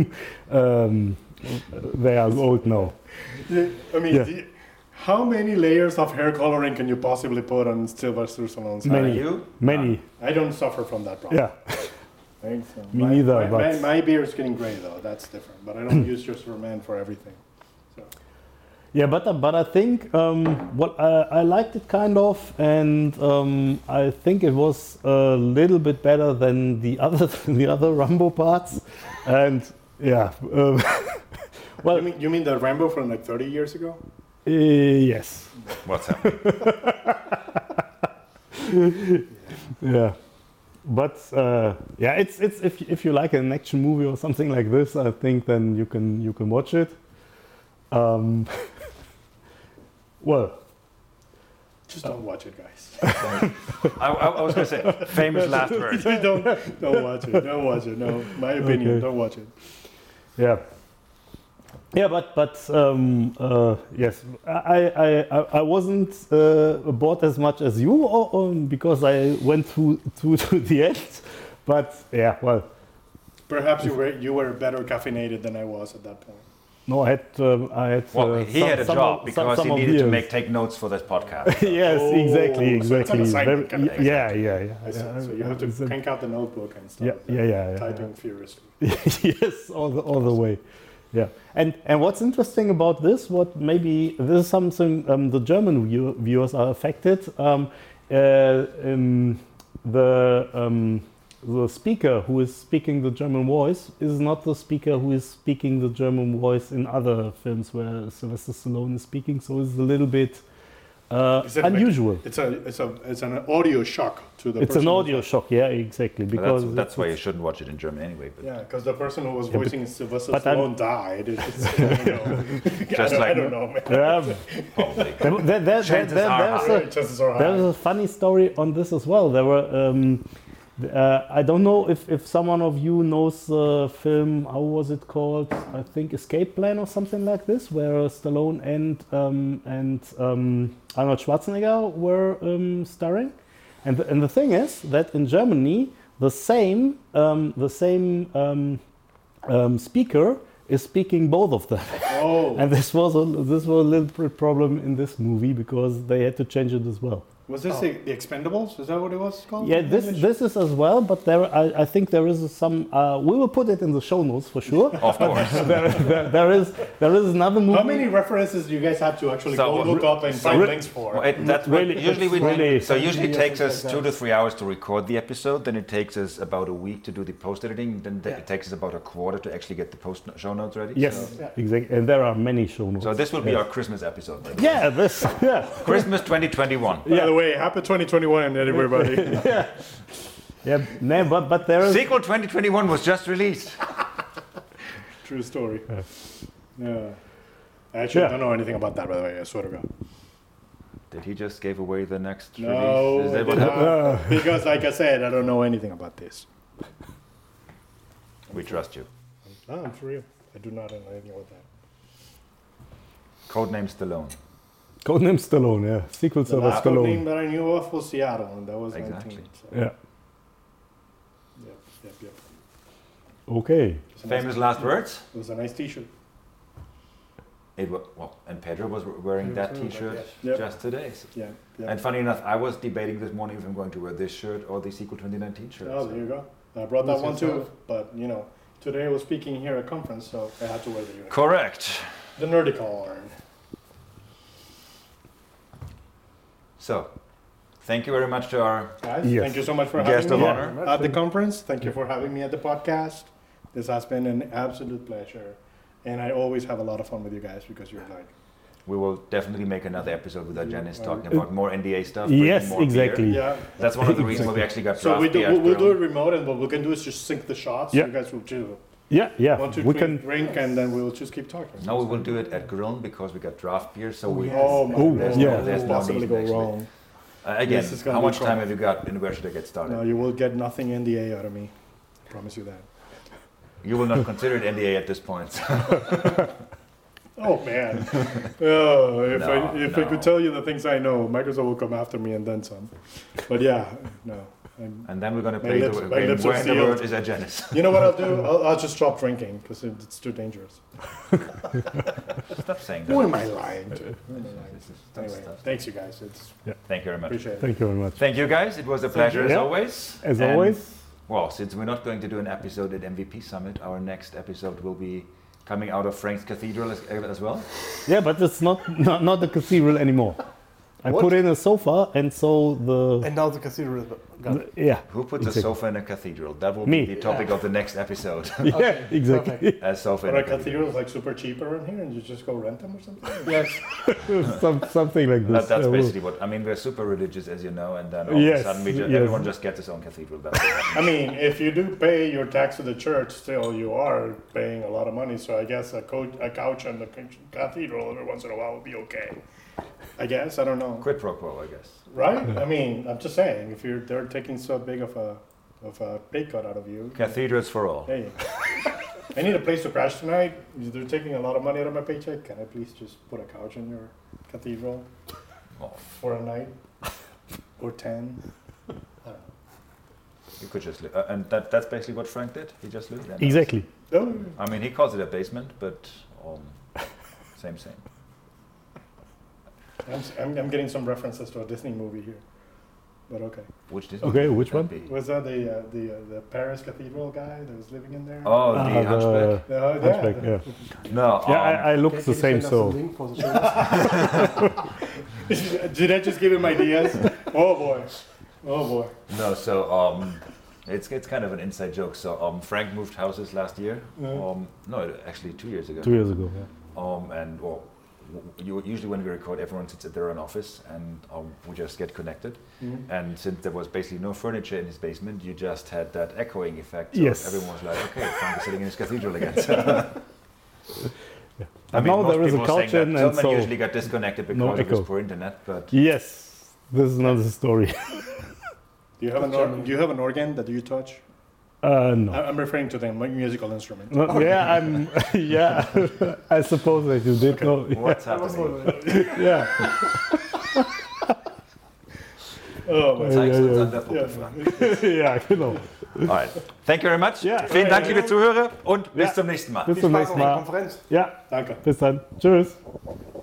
they are old now. old. I mean, Yeah. how many layers of hair coloring can you possibly put on Sylvester Stallone's Many. head? You? Many. I don't suffer from that problem. Yeah. Thanks. Me neither, My, but- my beard is getting gray though. That's different. But I don't use just for man for everything. So. Yeah, but I think I liked it kind of, and I think it was a little bit better than the other Rambo parts, and yeah. Well, You mean the Rambo from like 30 years ago? Yes. What's happening? Yeah. But it's if you like an action movie or something like this, I think then you can watch it. Well, Just don't watch it, guys. I was going to say, famous last word. don't watch it. Don't watch it. No, my opinion. Okay. Don't watch it. yeah. Yeah, but yes, I wasn't bored as much as you, because I went to the end. But yeah, well, Perhaps you were better caffeinated than I was at that point. no, I had. Well, he had a job because he of needed to beers. take notes for this podcast. Yes, Oh, exactly. so it's an assignment kind of thing. Yeah. I see. So you have to It's a- crank out the notebook and stuff. Yeah. Typing furiously. Yes, all the way. Yeah, and what's interesting about this? What maybe this is something the German viewers are affected. The speaker who is speaking the German voice is not the speaker who is speaking the German voice in other films where Sylvester Stallone is speaking. So it's a little bit Is it like- unusual. It's an audio shock to the. It's person an who's audio like- shock, yeah, exactly. But Because that's why you shouldn't watch it in German anyway. But Yeah, because the person who was but- voicing Sylvester but I'm- Stallone died. It's just, I don't know. Just I like- don't know, man. probably. there's a Chances are There's high. a funny story on this as well. There were, I don't know if someone of you knows the film, how was it called? I think Escape Plan or something like this, where Stallone and Arnold Schwarzenegger were starring. And the thing is that in Germany, the same speaker is speaking both of them. Oh, And this was a little bit problem in this movie because they had to change it as well. Was this the Expendables? Is that what it was called? Yeah, this is as well, but I think there is some. We will put it in the show notes for sure. Of course. there is another movie. How many references do you guys have to actually go look up and find links for? That's Really- usually we really- usually it takes us Like 2 to 3 hours to record the episode. Then it takes us about a week to do the post editing. Then it takes us about a quarter to actually get the show notes ready. Yes, So, exactly, and there are many show notes. so this will be Yes. our Christmas episode. by the way. Yeah, this. Yeah, Christmas 2021. By the way, happy 2021, everybody. yeah. No, but there is. Sequel 2021 was just released. True story. Yeah. I actually Yeah. don't know anything about that, by the way. I swear to God. Did he just gave away the next No, release? Is that I what did happened? not. Because, like I said, I don't know anything about this. We trust you. No, I'm for real. I do not know anything about that. Codename Stallone. Codename Stallone. Yeah, sequel The server last name Stallone. that I knew of was Seattle, and that was Exactly. 19. So. Yeah. Yep. Okay. It's a nice- Famous last words? It was a nice T-shirt. It was, well, and Pedro was wearing that T-shirt Yep. just today. So- Yeah. And funny enough, I was debating this morning if I'm going to wear this shirt or the Sequel 2019 shirt. Oh, so- there you go. I brought that Who's one too, yourself? but you know, today I was speaking here at conference, so I had to wear the uniform. Correct. The Nerdicorn. So, thank you very much to our Guys, Yes. thank you so much for guest having of me honor. at the conference. Thank you for having me at the podcast. This has been an absolute pleasure, and I always have a lot of fun with you guys because you're like, We will definitely make another episode with Janice talking about more NDA stuff. Yes, drinking more exactly. beer. yeah. That's one of the reasons why we actually got So draft we do, beer we'll, at we'll do it Grill. remote, and what we can do is just sync the shots. Yeah. You guys will do Yeah. 1, 2, We 3, can. drink, and then we'll just keep talking. No, we will do it at Grill because we got draft beer. So we Oh my Oh, God. there's yeah. no, there's What no could possibly need go actually. wrong? Again, This is gonna how be much fun. time have you got and where should I get started? No, you will get nothing NDA out of me. Promise you that. You will not consider it NDA at this point. Oh man! Oh, if I No. could tell you the things I know, Microsoft will come after me and then some. But yeah, no. And then we're going to My play lips- the my game lips are Where in the sealed. World is that Janice? You know what I'll do? I'll just stop drinking because it's too dangerous. Stop saying Who that. am I lying to? Who am I lying to? Anyway, thanks you guys. It's Thank you very much. appreciate it. Thank you very much. Thank you guys. It was a pleasure as Yeah. always. As And, always. Well, since we're not going to do an episode at MVP Summit, our next episode will be coming out of Frank's Cathedral as well. Yeah, but it's not the cathedral anymore. I What? put in a sofa, and so the And now the cathedral is gone. yeah. Who puts Exactly. a sofa in a cathedral? That will Me. be the topic of the next episode. Yeah, exactly. Perfect. A sofa in Are a cathedral. cathedrals like super cheap around here and you just go rent them or something? Yes. Something like this. That's well, basically what I mean. We're super religious, as you know, and then all of Yes, a sudden yes. everyone just gets his own cathedral. That's it. I mean, if you do pay your tax to the church, still you are paying a lot of money. So I guess a couch and the cathedral every once in a while would be okay. I guess I don't know. Quid pro quo, I guess. Right? I mean, I'm just saying, if they're taking so big of a pay cut out of you. Cathedrals for all. Hey, I need a place to crash tonight. They're taking a lot of money out of my paycheck. Can I please just put a couch in your cathedral Oh, for a night or 10? you could just live, and that's basically what Frank did. He just lived there. Exactly. Oh, I mean, he calls it a basement, but same. I'm getting some references to a Disney movie here, but okay. Which Disney Okay, movie which would one? that be? Was that the Paris Cathedral guy that was living in there? Oh, the Hunchback. Oh, Hunchback, yeah. No. Yeah, I look Can the you same. send us a So link for the show? Did I just give him ideas? Oh boy. No, so it's kind of an inside joke. So Frank moved houses last year. No, actually 2 years ago. 2 years ago. Yeah. And usually when we record, everyone sits at their own office, and we just get connected. And since there was basically no furniture in his basement, you just had that echoing effect. So Yes. everyone was like, "Okay, Frank is sitting in his cathedral again." I But now most there is a people saying couch that. in, and Tillman so usually got disconnected no because of his echo. poor internet, but yes, this is another story. Do you have an organ that you touch? No. I'm referring to the musical instrument. No, yeah, I'm. Yeah, I suppose that you did know. what's happening? Yeah. Oh my Zeig's uns ja. an der Puppe, Frank. Ja, genau. Alright. Thank you very much. Ja. Vielen Dank, liebe Zuhörer, und bis Ja. zum nächsten Mal. Bis zum Spaß nächsten auf der Mal. Konferenz. Ja, Danke. bis dann. Tschüss.